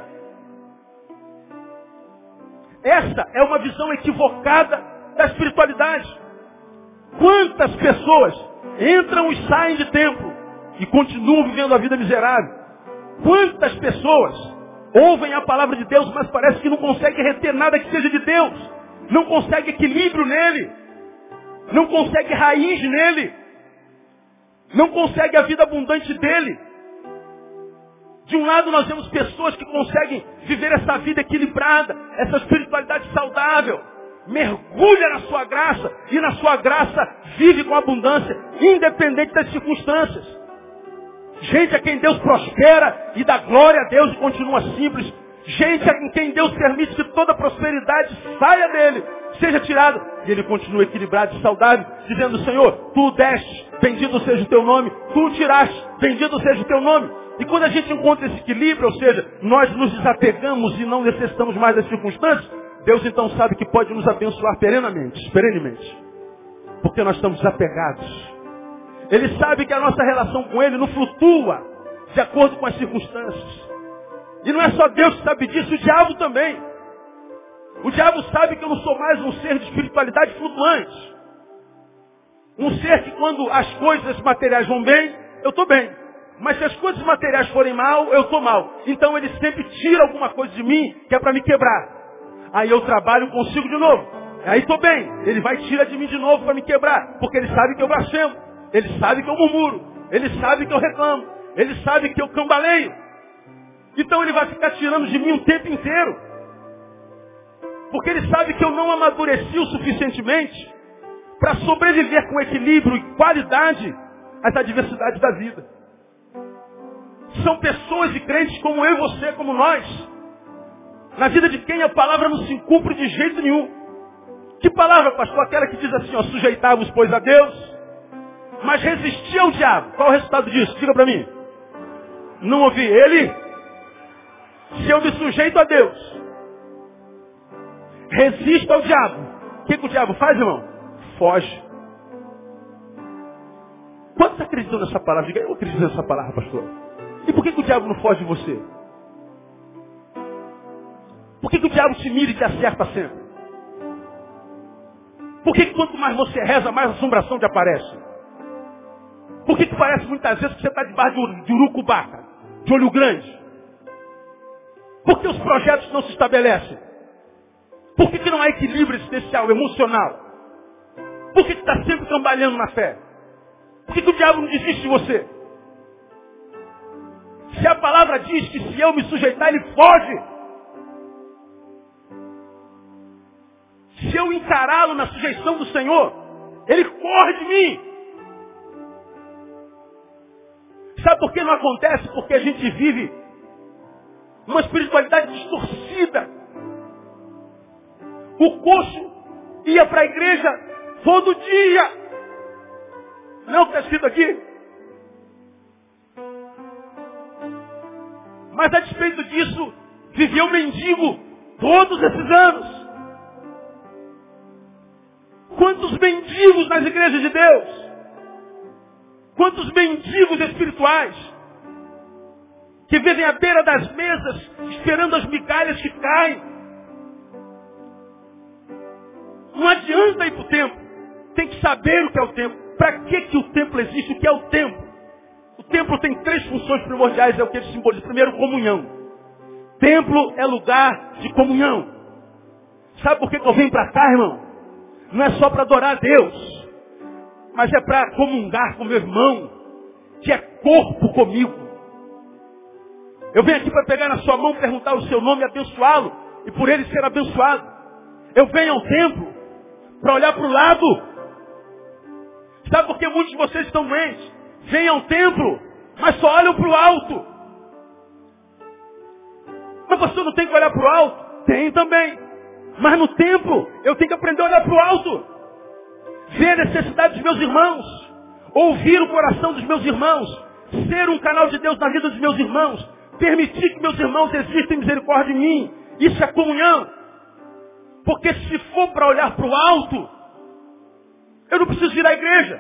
Essa é uma visão equivocada da espiritualidade. Quantas pessoas entram e saem de templo e continuam vivendo a vida miserável? Quantas pessoas ouvem a palavra de Deus, mas parece que não conseguem reter nada que seja de Deus? Não consegue equilíbrio nele. Não consegue raiz nele. Não consegue a vida abundante dele. De um lado nós temos pessoas que conseguem viver essa vida equilibrada, essa espiritualidade saudável. Mergulha na sua graça e na sua graça vive com abundância, independente das circunstâncias. Gente a quem Deus prospera e dá glória a Deus e continua simples. Gente em quem Deus permite que toda prosperidade saia dele, seja tirada. E ele continua equilibrado e saudável, dizendo: Senhor, tu o deste, bendito seja o teu nome. Tu o tiraste, bendito seja o teu nome. E quando a gente encontra esse equilíbrio, ou seja, nós nos desapegamos e não necessitamos mais das circunstâncias, Deus então sabe que pode nos abençoar perenemente. Porque nós estamos desapegados. Ele sabe que a nossa relação com Ele não flutua de acordo com as circunstâncias. E não é só Deus que sabe disso, o diabo também. O diabo sabe que eu não sou mais um ser de espiritualidade flutuante. Um ser que quando as coisas materiais vão bem, eu estou bem. Mas se as coisas materiais forem mal, eu estou mal. Então ele sempre tira alguma coisa de mim que é para me quebrar. Aí eu trabalho, consigo de novo. Aí estou bem. Ele vai tirar de mim de novo para me quebrar. Porque ele sabe que eu blasfemo. Ele sabe que eu murmuro. Ele sabe que eu reclamo. Ele sabe que eu cambaleio. Então ele vai ficar tirando de mim o tempo inteiro. Porque ele sabe que eu não amadureci o suficientemente para sobreviver com equilíbrio e qualidade às adversidades da vida. São pessoas e crentes como eu e você, como nós. Na vida de quem a palavra não se cumpre de jeito nenhum. Que palavra, pastor? Aquela que diz assim, ó, sujeitai-vos, pois, a Deus, mas resistir ao diabo. Qual é o resultado disso? Diga para mim. Não ouvi ele? Se eu me sujeito a Deus, resisto ao diabo, o que o diabo faz, irmão? Foge. Quantos acreditam nessa palavra? Diga, eu acredito nessa palavra, pastor. E por que o diabo não foge de você? Por que o diabo te mira e te acerta sempre? Por que quanto mais você reza, mais assombração te aparece? Por que parece muitas vezes que você está debaixo de urucubaca, de olho grande? Por que os projetos não se estabelecem? Por que não há equilíbrio existencial, emocional? Por que está sempre trabalhando na fé? Por que o diabo não desiste de você? Se a palavra diz que se eu me sujeitar, ele foge. Se eu encará-lo na sujeição do Senhor, ele corre de mim. Sabe por que não acontece? Porque a gente vive uma espiritualidade distorcida. O coxo ia para a igreja todo dia. Não está escrito aqui? Mas a despeito disso, viveu mendigo todos esses anos. Quantos mendigos nas igrejas de Deus? Quantos mendigos espirituais que vivem à beira das mesas esperando as migalhas que caem? Não adianta ir para o templo. Tem que saber o que é o templo. Para que o templo existe? O que é o templo? O templo tem 3 funções primordiais, é o que ele simboliza. Primeiro, comunhão. Templo é lugar de comunhão. Sabe por que eu venho para cá, irmão? Não é só para adorar a Deus, mas é para comungar com meu irmão, que é corpo comigo. Eu venho aqui para pegar na sua mão, perguntar o seu nome e abençoá-lo, e por ele ser abençoado. Eu venho ao templo para olhar para o lado. Sabe por que muitos de vocês estão doentes? Vêm ao templo, mas só olham para o alto. Mas você não tem que olhar para o alto? Tem também. Mas no templo, eu tenho que aprender a olhar para o alto. Ver a necessidade dos meus irmãos. Ouvir o coração dos meus irmãos. Ser um canal de Deus na vida dos meus irmãos. Permitir que meus irmãos existam em misericórdia de mim. Isso é comunhão. Porque se for para olhar para o alto, eu não preciso ir à igreja.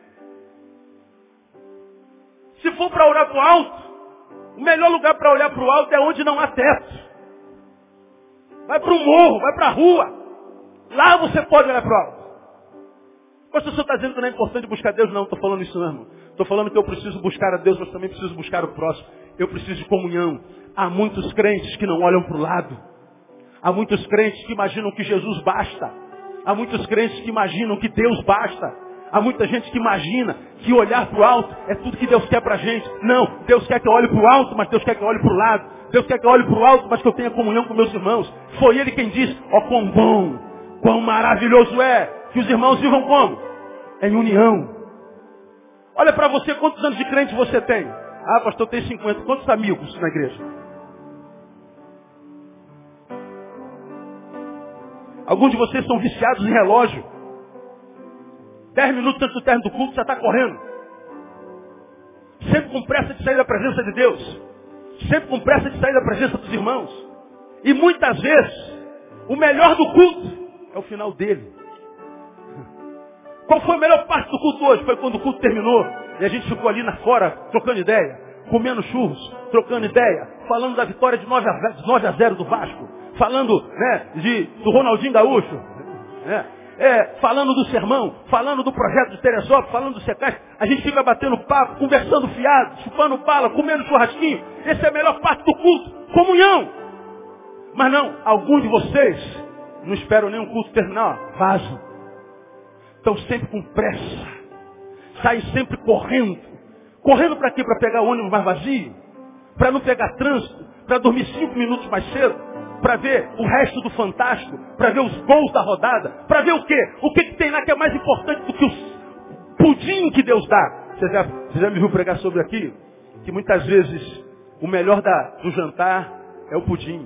Se for para olhar para o alto, o melhor lugar para olhar para o alto é onde não há teto. Vai para o morro, vai para a rua. Lá você pode olhar para o alto. Mas o senhor está dizendo que não é importante buscar Deus? Não, estou falando isso não, irmão. Estou falando que eu preciso buscar a Deus, mas também preciso buscar o próximo. Eu preciso de comunhão. Há muitos crentes que não olham para o lado. Há muitos crentes que imaginam que Jesus basta. Há muitos crentes que imaginam que Deus basta. Há muita gente que imagina que olhar para o alto é tudo que Deus quer para a gente. Não, Deus quer que eu olhe para o alto, mas Deus quer que eu olhe para o lado. Deus quer que eu olhe para o alto, mas que eu tenha comunhão com meus irmãos. Foi Ele quem disse, ó quão bom, quão maravilhoso é que os irmãos vivam como? Em união. Olha para você, quantos anos de crente você tem? Ah, pastor, eu tenho 50. Quantos amigos na igreja? Alguns de vocês são viciados em relógio. 10 minutos antes do término do culto, já está correndo. Sempre com pressa de sair da presença de Deus. Sempre com pressa de sair da presença dos irmãos. E muitas vezes, o melhor do culto é o final dele. Qual foi a melhor parte do culto hoje? Foi quando o culto terminou e a gente ficou ali na fora, trocando ideia, comendo churros, trocando ideia, falando da vitória de 9-0 do Vasco, falando do Ronaldinho Gaúcho, falando do sermão, falando do projeto de Teresópolis, falando do Secas. A gente fica batendo papo, conversando fiado, chupando bala, comendo churrasquinho. Essa é a melhor parte do culto, comunhão. Mas não, alguns de vocês não esperam nem o culto terminar, vazam. Estão sempre com pressa. Saem sempre correndo. Correndo para quê? Para pegar o ônibus mais vazio? Para não pegar trânsito? Para dormir 5 minutos mais cedo? Para ver o resto do Fantástico? Para ver os gols da rodada? Para ver o quê? O que tem lá que é mais importante do que o pudim que Deus dá? Você já me viu pregar sobre aqui? que muitas vezes o melhor do jantar é o pudim.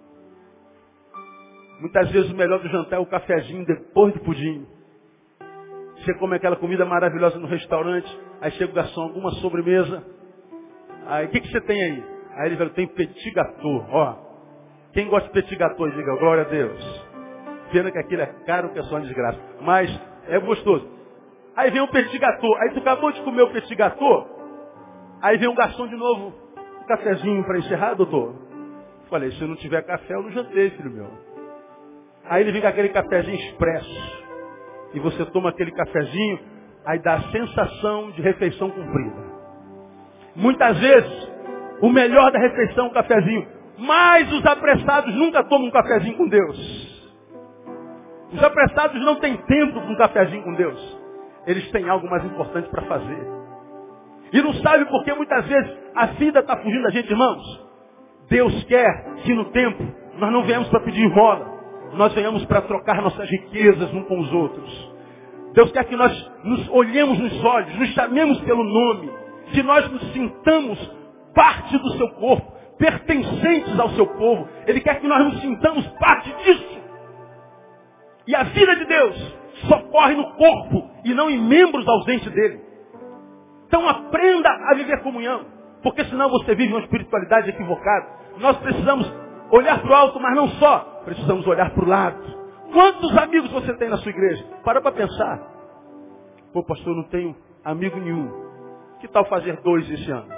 Muitas vezes o melhor do jantar é o cafezinho depois do pudim. Você come aquela comida maravilhosa no restaurante, aí chega o garçom, alguma sobremesa. Aí, o que você tem aí? Aí ele fala, tem petit gâteau. Ó, quem gosta de petit gâteau, diga, glória a Deus. Pena que aquilo é caro, que é só uma desgraça. Mas é gostoso. Aí vem um petit gâteau. Aí tu acabou de comer o petit gâteau. Aí vem um garçom de novo. Um cafezinho para encerrar, doutor? Falei, se não tiver café, eu não jantei, filho meu. Aí ele vem com aquele cafezinho expresso. E você toma aquele cafezinho, aí dá a sensação de refeição cumprida. Muitas vezes, o melhor da refeição é o cafezinho. Mas os apressados nunca tomam um cafezinho com Deus. Os apressados não têm tempo para um cafezinho com Deus. Eles têm algo mais importante para fazer. E não sabe por que muitas vezes a vida está fugindo da gente, irmãos. Deus quer que no tempo nós não venhamos para pedir esmola. Nós venhamos para trocar nossas riquezas uns com os outros. Deus quer que nós nos olhemos nos olhos, nos chamemos pelo nome, que nós nos sintamos parte do seu corpo, pertencentes ao seu povo. Ele quer que nós nos sintamos parte disso. E a vida de Deus só corre no corpo e não em membros ausentes dele. Então aprenda a viver comunhão, porque senão você vive uma espiritualidade equivocada. Nós precisamos olhar para o alto, mas não só. Precisamos olhar para o lado. Quantos amigos você tem na sua igreja? Para pensar. Pô, pastor, eu não tenho amigo nenhum. Que tal fazer 2 esse ano?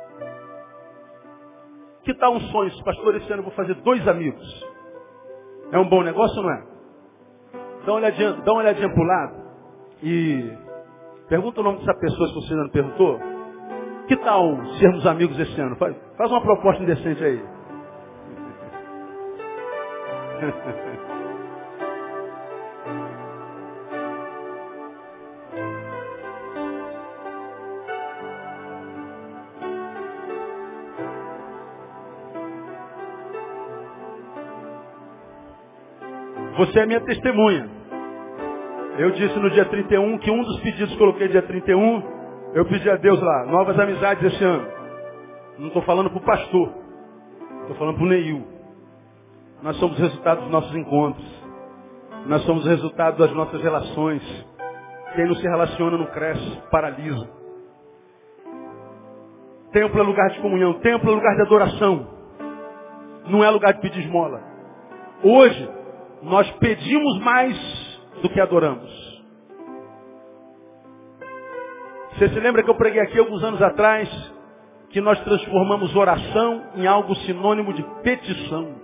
Que tal um sonho? Pastor, esse ano eu vou fazer 2 amigos. É um bom negócio ou não é? Dá uma olhadinha para o lado. E pergunta o nome dessa pessoa, se você ainda não perguntou. Que tal sermos amigos esse ano? Faz uma proposta indecente aí. Você é minha testemunha. Eu disse no dia 31 que um dos pedidos que eu coloquei dia 31, eu pedi a Deus lá, novas amizades esse ano. Não estou falando para o pastor, estou falando para o Neil. Nós somos resultado dos nossos encontros. Nós somos resultado das nossas relações. Quem não se relaciona não cresce, paralisa. Templo é lugar de comunhão, templo é lugar de adoração. Não é lugar de pedir esmola. Hoje, nós pedimos mais do que adoramos. Você se lembra que eu preguei aqui alguns anos atrás que nós transformamos oração em algo sinônimo de petição.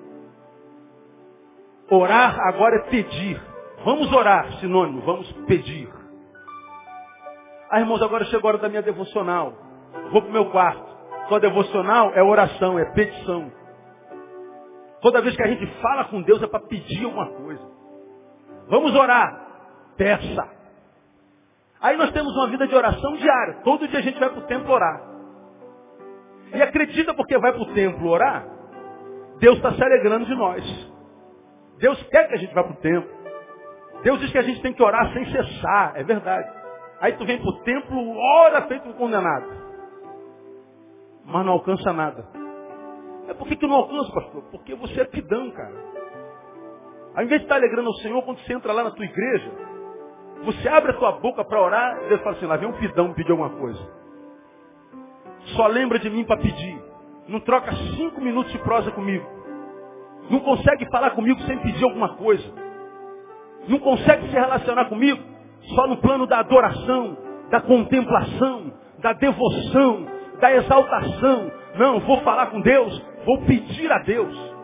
Orar agora é pedir. Vamos orar, sinônimo, vamos pedir. Ah, irmãos, agora chegou a hora da minha devocional. Vou para o meu quarto. Sua devocional é oração, é petição. Toda vez que a gente fala com Deus é para pedir alguma coisa. Vamos orar. Peça. Aí nós temos uma vida de oração diária. Todo dia a gente vai para o templo orar. E acredita porque vai para o templo orar, Deus está se alegrando de nós. Deus quer que a gente vá para o templo. Deus diz que a gente tem que orar sem cessar. É verdade. Aí tu vem para o templo, ora feito um condenado. Mas não alcança nada. É por que não alcança, pastor? Porque você é pidão, cara. Ao invés de estar alegrando ao Senhor, quando você entra lá na tua igreja, você abre a tua boca para orar, e Deus fala assim, lá vem um pidão me pedir alguma coisa. Só lembra de mim para pedir. Não troca 5 minutos de prosa comigo. Não consegue falar comigo sem pedir alguma coisa. Não consegue se relacionar comigo só no plano da adoração, da contemplação, da devoção, da exaltação. Não, vou falar com Deus, vou pedir a Deus.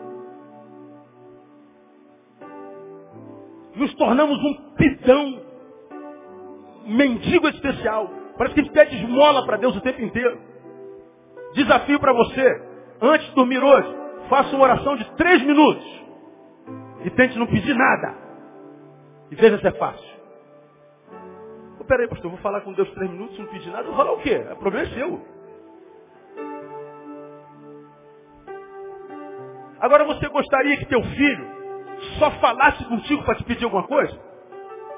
Nos tornamos um pidão, um mendigo especial. Parece que a gente pede esmola para Deus o tempo inteiro. Desafio para você, antes de dormir hoje, faça uma oração de 3 minutos. E tente não pedir nada. E veja se é fácil. Peraí, pastor, eu vou falar com Deus 3 minutos e não pedir nada. Eu vou falar o quê? O problema é seu. Agora você gostaria que teu filho só falasse contigo para te pedir alguma coisa?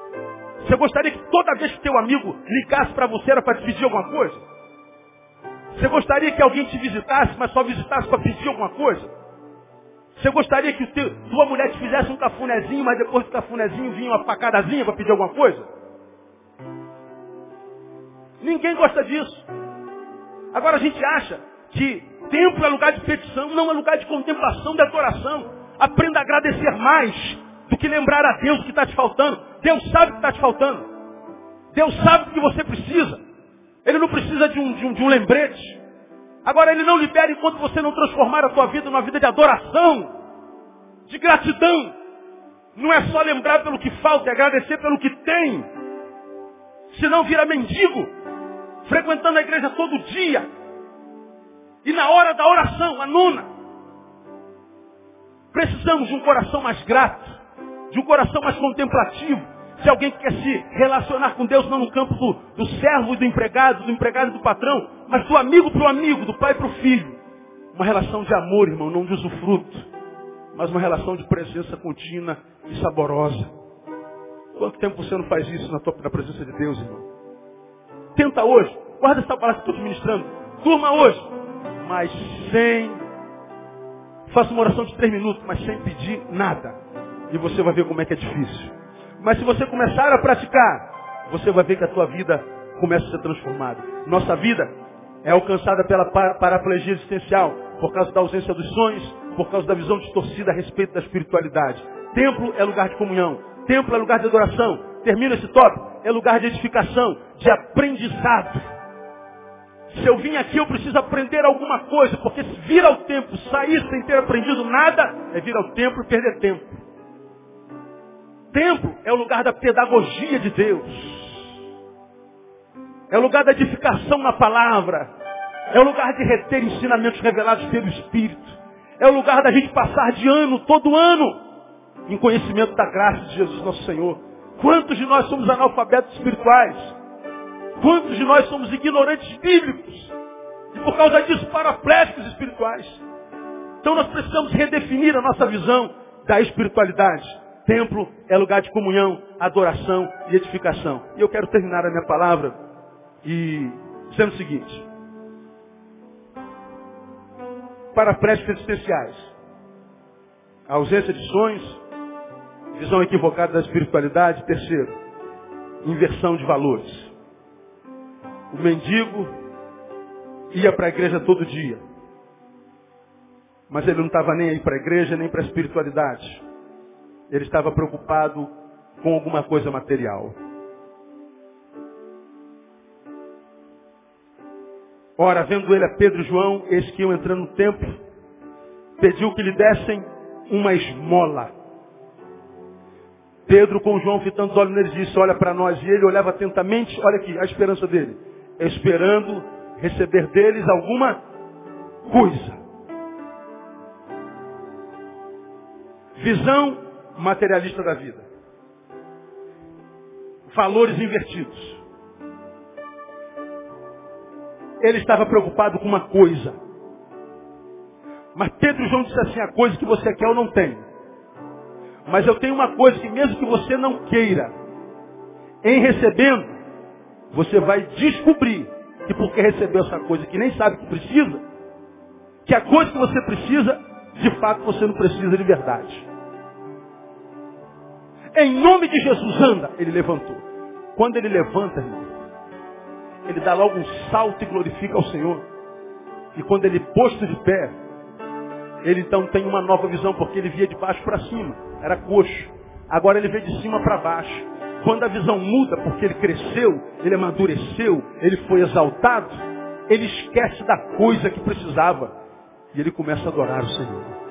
Você gostaria que toda vez que teu amigo ligasse para você era para te pedir alguma coisa? Você gostaria que alguém te visitasse, mas só visitasse para pedir alguma coisa? Você gostaria que tua mulher te fizesse um cafunézinho, mas depois do cafunézinho vinha uma facadazinha para pedir alguma coisa? Ninguém gosta disso. Agora a gente acha que templo é lugar de petição, não é lugar de contemplação, de adoração. Aprenda a agradecer mais do que lembrar a Deus o que está te faltando. Deus sabe o que está te faltando. Deus sabe o que você precisa. Ele não precisa de um lembrete. Agora Ele não libera enquanto você não transformar a tua vida numa vida de adoração, de gratidão. Não é só lembrar pelo que falta, é agradecer pelo que tem. Senão vira mendigo, frequentando a igreja todo dia. E na hora da oração, a nona. Precisamos de um coração mais grato, de um coração mais contemplativo. Se alguém quer se relacionar com Deus, não no campo do servo e do empregado e do patrão, mas do amigo para o amigo, do pai para o filho. Uma relação de amor, irmão, não de usufruto, mas uma relação de presença contínua e saborosa. Quanto tempo você não faz isso na presença de Deus, irmão? Tenta hoje, guarda essa palavra que estou te ministrando. Durma hoje, mas faça uma oração de 3 minutos, mas sem pedir nada. E você vai ver como é que é difícil. Mas se você começar a praticar, você vai ver que a tua vida começa a ser transformada. Nossa vida é alcançada pela paraplegia existencial, por causa da ausência dos sonhos, por causa da visão distorcida a respeito da espiritualidade. Templo é lugar de comunhão. Templo é lugar de adoração. Termina esse tópico. É lugar de edificação, de aprendizado. Se eu vim aqui, eu preciso aprender alguma coisa, porque se vir ao templo, sair sem ter aprendido nada, é vir ao templo e perder tempo. Templo é o lugar da pedagogia de Deus. É o lugar da edificação na palavra. É o lugar de reter ensinamentos revelados pelo Espírito. É o lugar da gente passar de ano, todo ano, em conhecimento da graça de Jesus nosso Senhor. Quantos de nós somos analfabetos espirituais? Quantos de nós somos ignorantes bíblicos? E por causa disso, paraplégicos espirituais. Então nós precisamos redefinir a nossa visão da espiritualidade. Templo é lugar de comunhão, adoração e edificação. E eu quero terminar a minha palavra dizendo o seguinte. Paraplégicos existenciais. A ausência de sonhos, visão equivocada da espiritualidade. Terceiro, inversão de valores. O mendigo ia para a igreja todo dia. Mas ele não estava nem aí para a igreja, nem para a espiritualidade. Ele estava preocupado com alguma coisa material. Ora, vendo ele a Pedro e João, eis que iam entrando no templo, pediu que lhe dessem uma esmola. Pedro com João fitando os olhos nele disse, olha para nós. E ele olhava atentamente, olha aqui, a esperança dele. Esperando receber deles alguma coisa. Visão materialista da vida. Valores invertidos. Ele estava preocupado com uma coisa. Mas Pedro e João disse assim, a coisa que você quer eu não tenho. Mas eu tenho uma coisa que mesmo que você não queira, em recebendo, você vai descobrir que porque recebeu essa coisa que nem sabe que precisa, que a coisa que você precisa, de fato você não precisa de verdade. Em nome de Jesus, anda. Ele levantou. Quando ele levanta, irmão, ele dá logo um salto e glorifica ao Senhor. E quando ele posto de pé, ele então tem uma nova visão, porque ele via de baixo para cima. Era coxo. Agora ele vê de cima para baixo. Quando a visão muda, porque ele cresceu, ele amadureceu, ele foi exaltado, ele esquece da coisa que precisava. E ele começa a adorar o Senhor.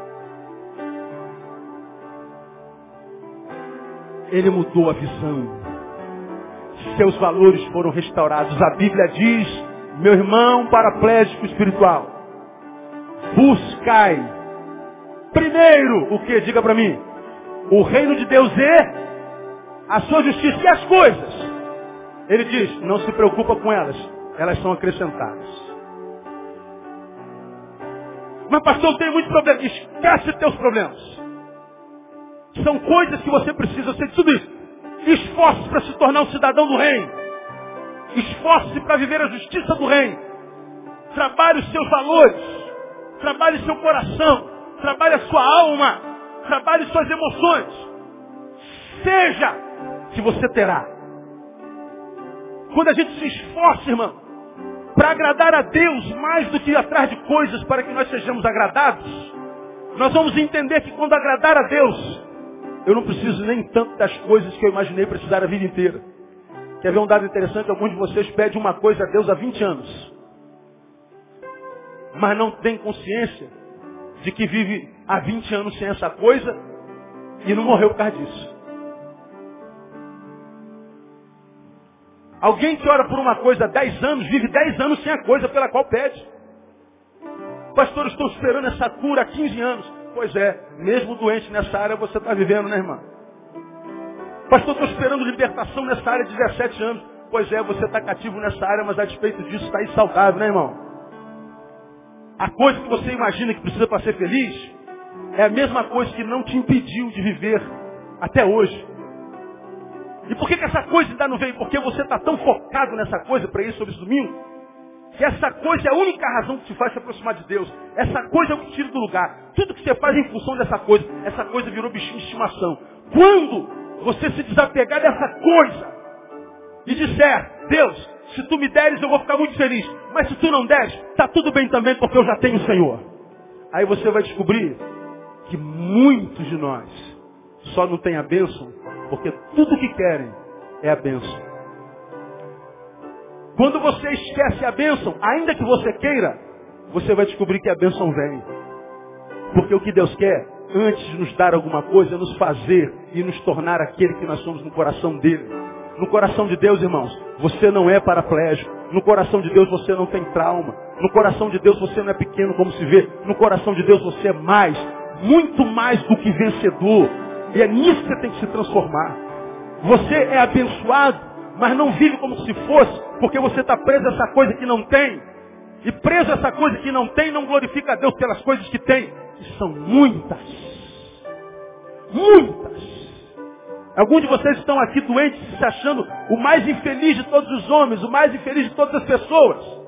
Ele mudou a visão. Seus valores foram restaurados. A Bíblia diz, meu irmão paraplégico espiritual, buscai primeiro o que? Diga para mim. O reino de Deus é a sua justiça e as coisas. Ele diz, não se preocupa com elas. Elas são acrescentadas. Mas pastor, eu tenho muito problema. Esquece teus problemas. São coisas que você precisa ser de tudo isso. Esforce-se para se tornar um cidadão do reino. Esforce-se para viver a justiça do reino. Trabalhe os seus valores. Trabalhe seu coração. Trabalhe a sua alma. Trabalhe suas emoções. Seja que você terá. Quando a gente se esforça, irmão, para agradar a Deus mais do que atrás de coisas para que nós sejamos agradados, nós vamos entender que quando agradar a Deus, eu não preciso nem tanto das coisas que eu imaginei precisar a vida inteira. Quer ver um dado interessante? Alguns de vocês pedem uma coisa a Deus há 20 anos. Mas não tem consciência de que vive há 20 anos sem essa coisa e não morreu por causa disso. Alguém que ora por uma coisa há 10 anos, vive 10 anos sem a coisa pela qual pede. Pastor, estou esperando essa cura há 15 anos. Pois é, mesmo doente nessa área você está vivendo, né, irmã? Pastor, estou esperando libertação nessa área de 17 anos. Pois é, você está cativo nessa área, mas a despeito disso está aí saudável, né, irmão? A coisa que você imagina que precisa para ser feliz é a mesma coisa que não te impediu de viver até hoje. E por que essa coisa ainda não veio? Porque você está tão focado nessa coisa para ir sobre esse domingo, que essa coisa é a única razão que te faz se aproximar de Deus. Essa coisa é o que te tira do lugar. Tudo que você faz é em função dessa coisa. Essa coisa virou bichinho de estimação. Quando você se desapegar dessa coisa e disser, Deus, se tu me deres eu vou ficar muito feliz. Mas se tu não deres, está tudo bem também porque eu já tenho o Senhor. Aí você vai descobrir que muitos de nós só não têm a bênção porque tudo que querem é a bênção. Quando você esquece a bênção, ainda que você queira, você vai descobrir que a bênção vem. Porque o que Deus quer, antes de nos dar alguma coisa, é nos fazer e nos tornar aquele que nós somos no coração dele. No coração de Deus, irmãos, você não é paraplégico. No coração de Deus você não tem trauma. No coração de Deus você não é pequeno como se vê. No coração de Deus você é mais, muito mais do que vencedor. E é nisso que você tem que se transformar. Você é abençoado, mas não vive como se fosse, porque você está preso a essa coisa que não tem. E preso a essa coisa que não tem, não glorifica a Deus pelas coisas que tem. Que são muitas. Muitas. Alguns de vocês estão aqui doentes, se achando o mais infeliz de todos os homens, o mais infeliz de todas as pessoas.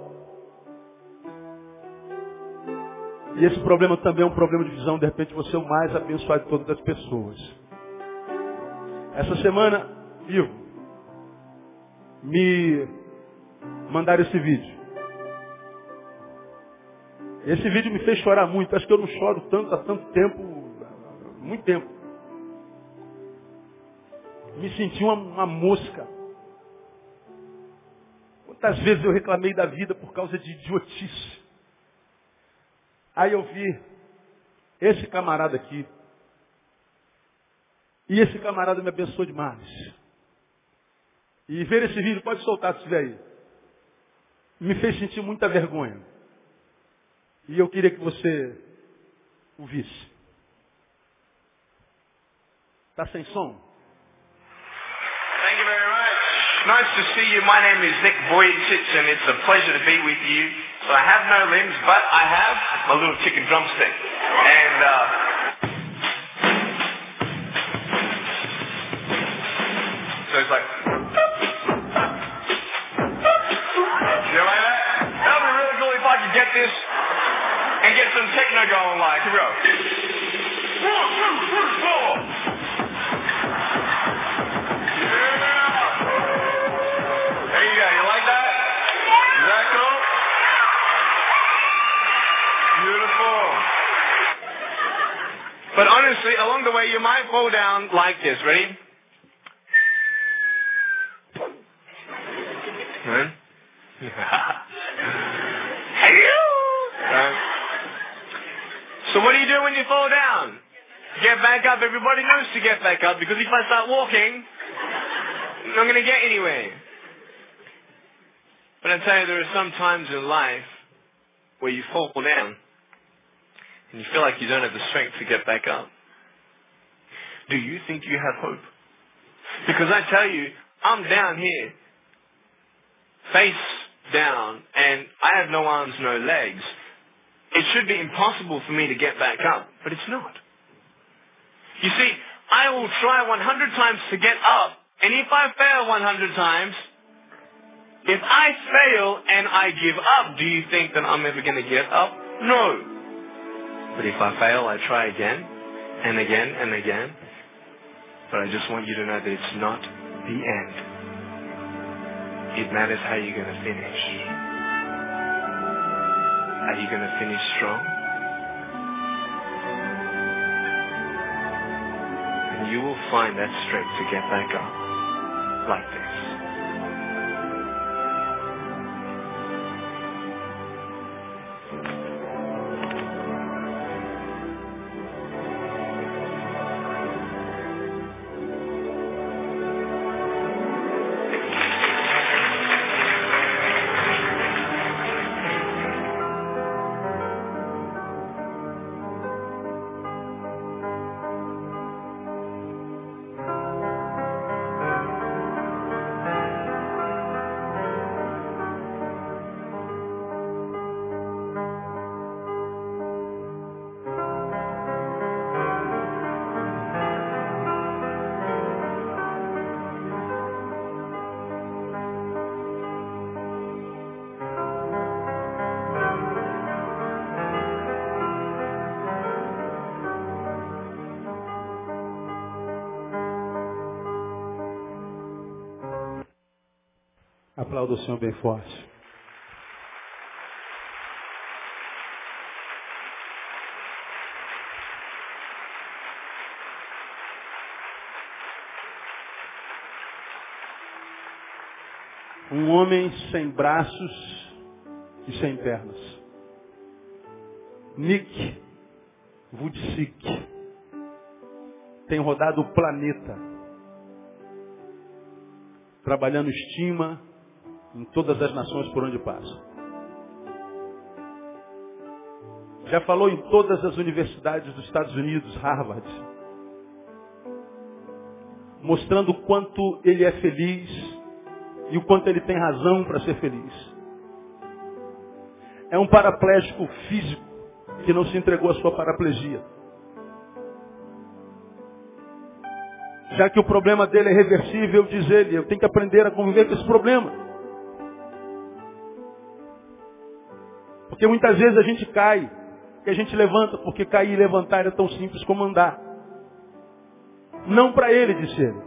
E esse problema também é um problema de visão. De repente você é o mais abençoado de todas as pessoas. Essa semana, Ivo, me mandaram esse vídeo. Esse vídeo me fez chorar muito. Acho que eu não choro tanto há tanto tempo, muito tempo. Me senti uma mosca. Quantas vezes eu reclamei da vida por causa de idiotice. Aí eu vi esse camarada aqui. E esse camarada me abençoou demais. E ver esse vídeo, pode soltar se estiver aí. Me fez sentir muita vergonha. E eu queria que você o visse. Está sem som? Thank you very much. Nice to see you. My name is Nick Vujicic and it's a pleasure to be with you. So I have no limbs, but I have my little chicken drumstick. And so it's like, you like that? That would be really cool if I could get this and get some techno going like. Here we go. 1, 2, 3, 4. But honestly, along the way, you might fall down like this. Ready? Right? So what do you do when you fall down? Get back up. Everybody knows to get back up because if I start walking, I'm not going to get anywhere. But I tell you, there are some times in life where you fall down and you feel like you don't have the strength to get back up. Do you think you have hope? Because I tell you, I'm down here, face down, and I have no arms, no legs. It should be impossible for me to get back up, but it's not. You see, I will try 100 times to get up, and if I fail 100 times, If I fail and I give up, do you think that I'm ever going to get up? No. But if I fail, I try again and again and again. But I just want you to know that it's not the end. It matters how you're going to finish. Are you going to finish strong? And you will find that strength to get back up like this. Aplauda o Senhor bem forte. Um homem sem braços e sem pernas. Nick Vujicic tem rodado o planeta, trabalhando estima em todas as nações por onde passa. Já falou em todas as universidades dos Estados Unidos, Harvard, mostrando o quanto ele é feliz e o quanto ele tem razão para ser feliz. É um paraplégico físico que não se entregou à sua paraplegia. Já que o problema dele é reversível, diz ele, eu tenho que aprender a conviver com esse problema. Porque muitas vezes a gente cai, que a gente levanta, porque cair e levantar é tão simples como andar. Não para ele, disse ele.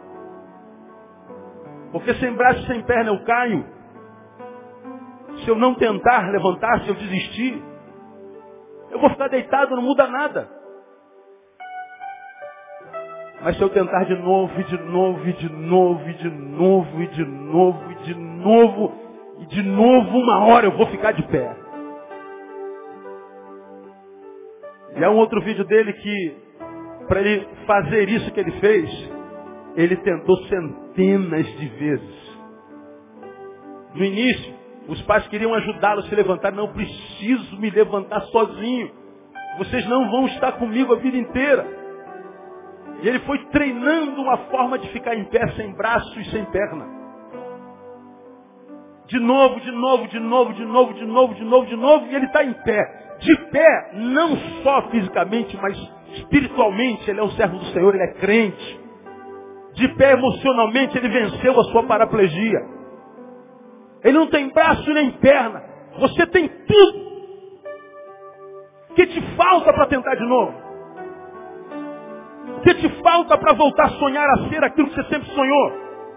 Porque sem braço e sem perna eu caio. Se eu não tentar levantar, se eu desistir, eu vou ficar deitado, não muda nada. Mas se eu tentar de novo, e de novo, e de novo, e de novo, e de novo, e de novo, e de novo, uma hora eu vou ficar de pé. E há um outro vídeo dele que, para ele fazer isso que ele fez, ele tentou centenas de vezes. No início, os pais queriam ajudá-lo a se levantar. Não preciso me levantar sozinho. Vocês não vão estar comigo a vida inteira. E ele foi treinando uma forma de ficar em pé sem braço e sem perna. De novo, de novo, de novo, de novo, de novo, de novo, de novo, e ele está em pé. De pé, não só fisicamente, mas espiritualmente, ele é um servo do Senhor, ele é crente. De pé emocionalmente, ele venceu a sua paraplegia. Ele não tem braço nem perna. Você tem tudo. O que te falta para tentar de novo? O que te falta para voltar a sonhar a ser aquilo que você sempre sonhou?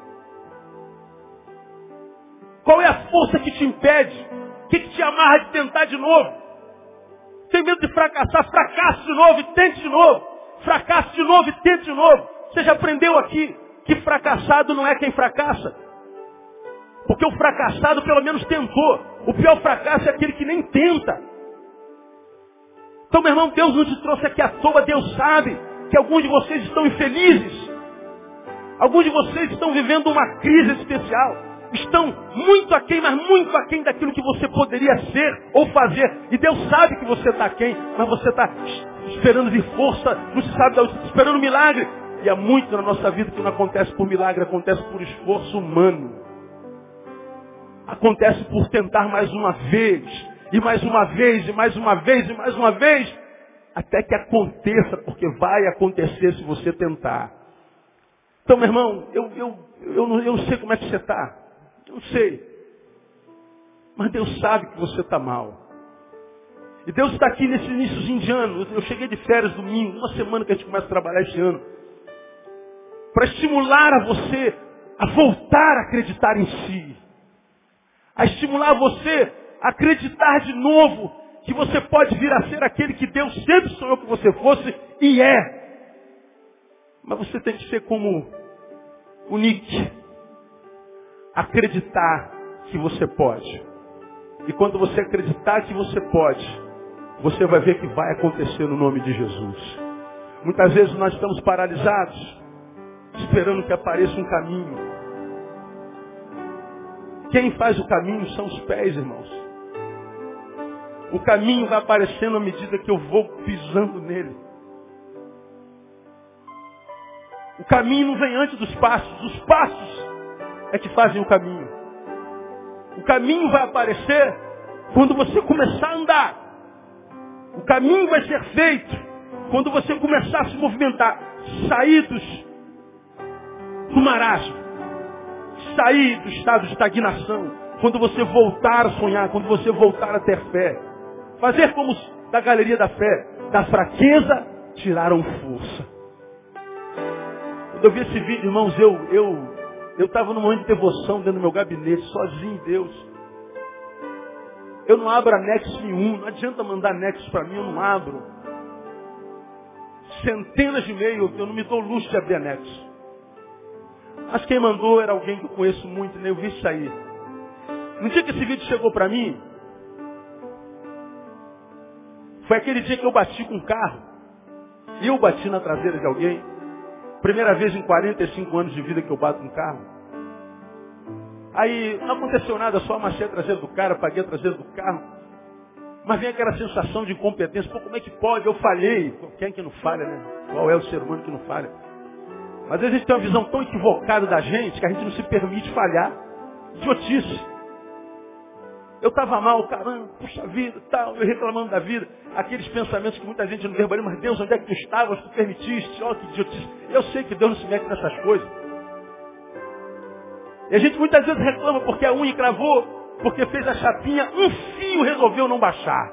Qual é a força que te impede? O que te amarra de tentar de novo? Tem medo de fracassar? Fracasse de novo e tente de novo. Fracasse de novo e tente de novo. Você já aprendeu aqui que fracassado não é quem fracassa. Porque o fracassado pelo menos tentou. O pior fracasso é aquele que nem tenta. Então, meu irmão, Deus não te trouxe aqui à toa. Deus sabe que alguns de vocês estão infelizes. Alguns de vocês estão vivendo uma crise especial. Estão muito aquém, mas muito aquém daquilo que você poderia ser ou fazer. E Deus sabe que você está aquém, mas você está esperando de força, não se sabe, esperando um milagre. E há muito na nossa vida que não acontece por milagre, acontece por esforço humano. Acontece por tentar mais uma vez, e mais uma vez, e mais uma vez, e mais uma vez, até que aconteça, porque vai acontecer se você tentar. Então, meu irmão, eu não sei como é que você está. Eu não sei. Mas Deus sabe que você está mal. E Deus está aqui nesse iníciozinho de ano. Eu cheguei de férias domingo, uma semana que a gente começa a trabalhar este ano. Para estimular a você a voltar a acreditar em si. A estimular você a acreditar de novo que você pode vir a ser aquele que Deus sempre sonhou que você fosse e é. Mas você tem que ser como o Nick. Acreditar que você pode. E quando você acreditar que você pode, você vai ver que vai acontecer no nome de Jesus. Muitas vezes nós estamos paralisados, esperando que apareça um caminho. Quem faz o caminho são os pés, irmãos. O caminho vai aparecendo à medida que eu vou pisando nele. O caminho não vem antes dos passos. Os passos é que fazem o caminho. O caminho vai aparecer quando você começar a andar. O caminho vai ser feito quando você começar a se movimentar. Saídos do marasmo. Sair do estado de estagnação. Quando você voltar a sonhar. Quando você voltar a ter fé. Fazer como da galeria da fé. Da fraqueza tiraram força. Quando eu vi esse vídeo, irmãos, eu estava num momento de devoção dentro do meu gabinete, sozinho em Deus. Eu não abro anexo nenhum, não adianta mandar anexo para mim, eu não abro. Centenas de e-mails, eu não me dou luxo de abrir anexo. Mas quem mandou era alguém que eu conheço muito, né? Eu vi isso aí. No dia que esse vídeo chegou para mim, foi aquele dia que eu bati com um carro. E eu bati na traseira de alguém. Primeira vez em 45 anos de vida que eu bato um carro. Aí não aconteceu nada, só amassei a traseira do cara, paguei a traseira do carro. Mas vem aquela sensação de incompetência. Pô, como é que pode? Eu falhei. Pô, quem é que não falha, né? Qual é o ser humano que não falha? Mas às vezes a gente tem uma visão tão equivocada da gente que a gente não se permite falhar. Idiotice. Eu estava mal, caramba, puxa vida, tal, eu reclamando da vida. Aqueles pensamentos que muita gente não verbaliza, mas Deus, onde é que tu estavas? Tu permitiste? Olha que idiotice. Eu sei que Deus não se mete nessas coisas. E a gente muitas vezes reclama porque a unha encravou, porque fez a chapinha, um fio resolveu não baixar.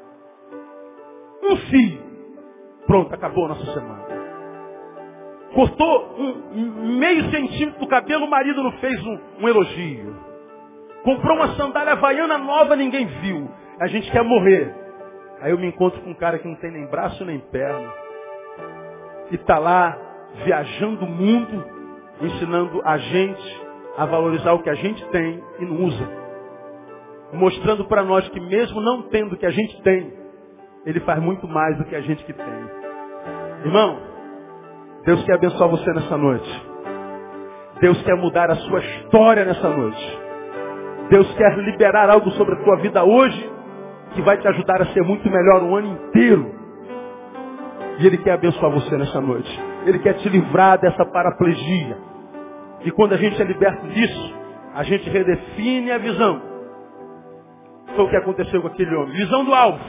Um fio. Pronto, acabou a nossa semana. Cortou meio centímetro do cabelo, o marido não fez um elogio. Comprou uma sandália havaiana nova, ninguém viu. A gente quer morrer. Aí eu me encontro com um cara que não tem nem braço nem perna. E está lá, viajando o mundo, ensinando a gente a valorizar o que a gente tem e não usa. Mostrando para nós que mesmo não tendo o que a gente tem, ele faz muito mais do que a gente que tem. Irmão, Deus quer abençoar você nessa noite. Deus quer mudar a sua história nessa noite. Deus quer liberar algo sobre a tua vida hoje que vai te ajudar a ser muito melhor o ano inteiro. E Ele quer abençoar você nessa noite. Ele quer te livrar dessa paraplegia. E quando a gente é liberto disso, a gente redefine a visão. Foi o que aconteceu com aquele homem. Visão do alvo.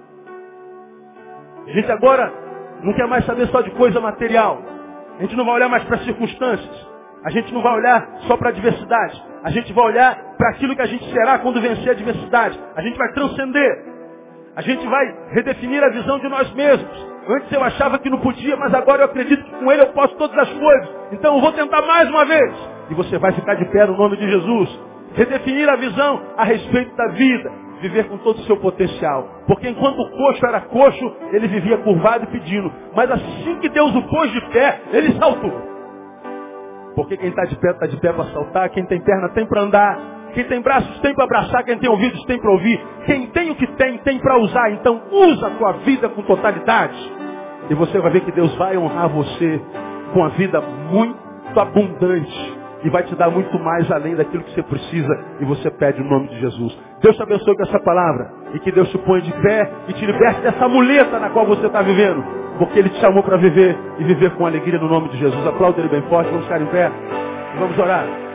A gente agora não quer mais saber só de coisa material. A gente não vai olhar mais para as circunstâncias. A gente não vai olhar só para a adversidade. A gente vai olhar para aquilo que a gente será quando vencer a adversidade. A gente vai transcender. A gente vai redefinir a visão de nós mesmos. Antes eu achava que não podia, mas agora eu acredito que com Ele eu posso todas as coisas. Então eu vou tentar mais uma vez. E você vai ficar de pé no nome de Jesus. Redefinir a visão a respeito da vida. Viver com todo o seu potencial. Porque enquanto o coxo era coxo, ele vivia curvado e pedindo. Mas assim que Deus o pôs de pé, ele saltou. Porque quem está de pé para saltar. Quem tem perna tem para andar. Quem tem braços tem para abraçar. Quem tem ouvidos tem para ouvir. Quem tem o que tem para usar. Então usa a tua vida com totalidade. E você vai ver que Deus vai honrar você com a vida muito abundante. E vai te dar muito mais além daquilo que você precisa. E você pede no nome de Jesus. Deus te abençoe com essa palavra. E que Deus te ponha de pé e te liberte dessa muleta na qual você está vivendo. Porque Ele te chamou para viver e viver com alegria no nome de Jesus. Aplauda Ele bem forte. Vamos ficar em pé e vamos orar.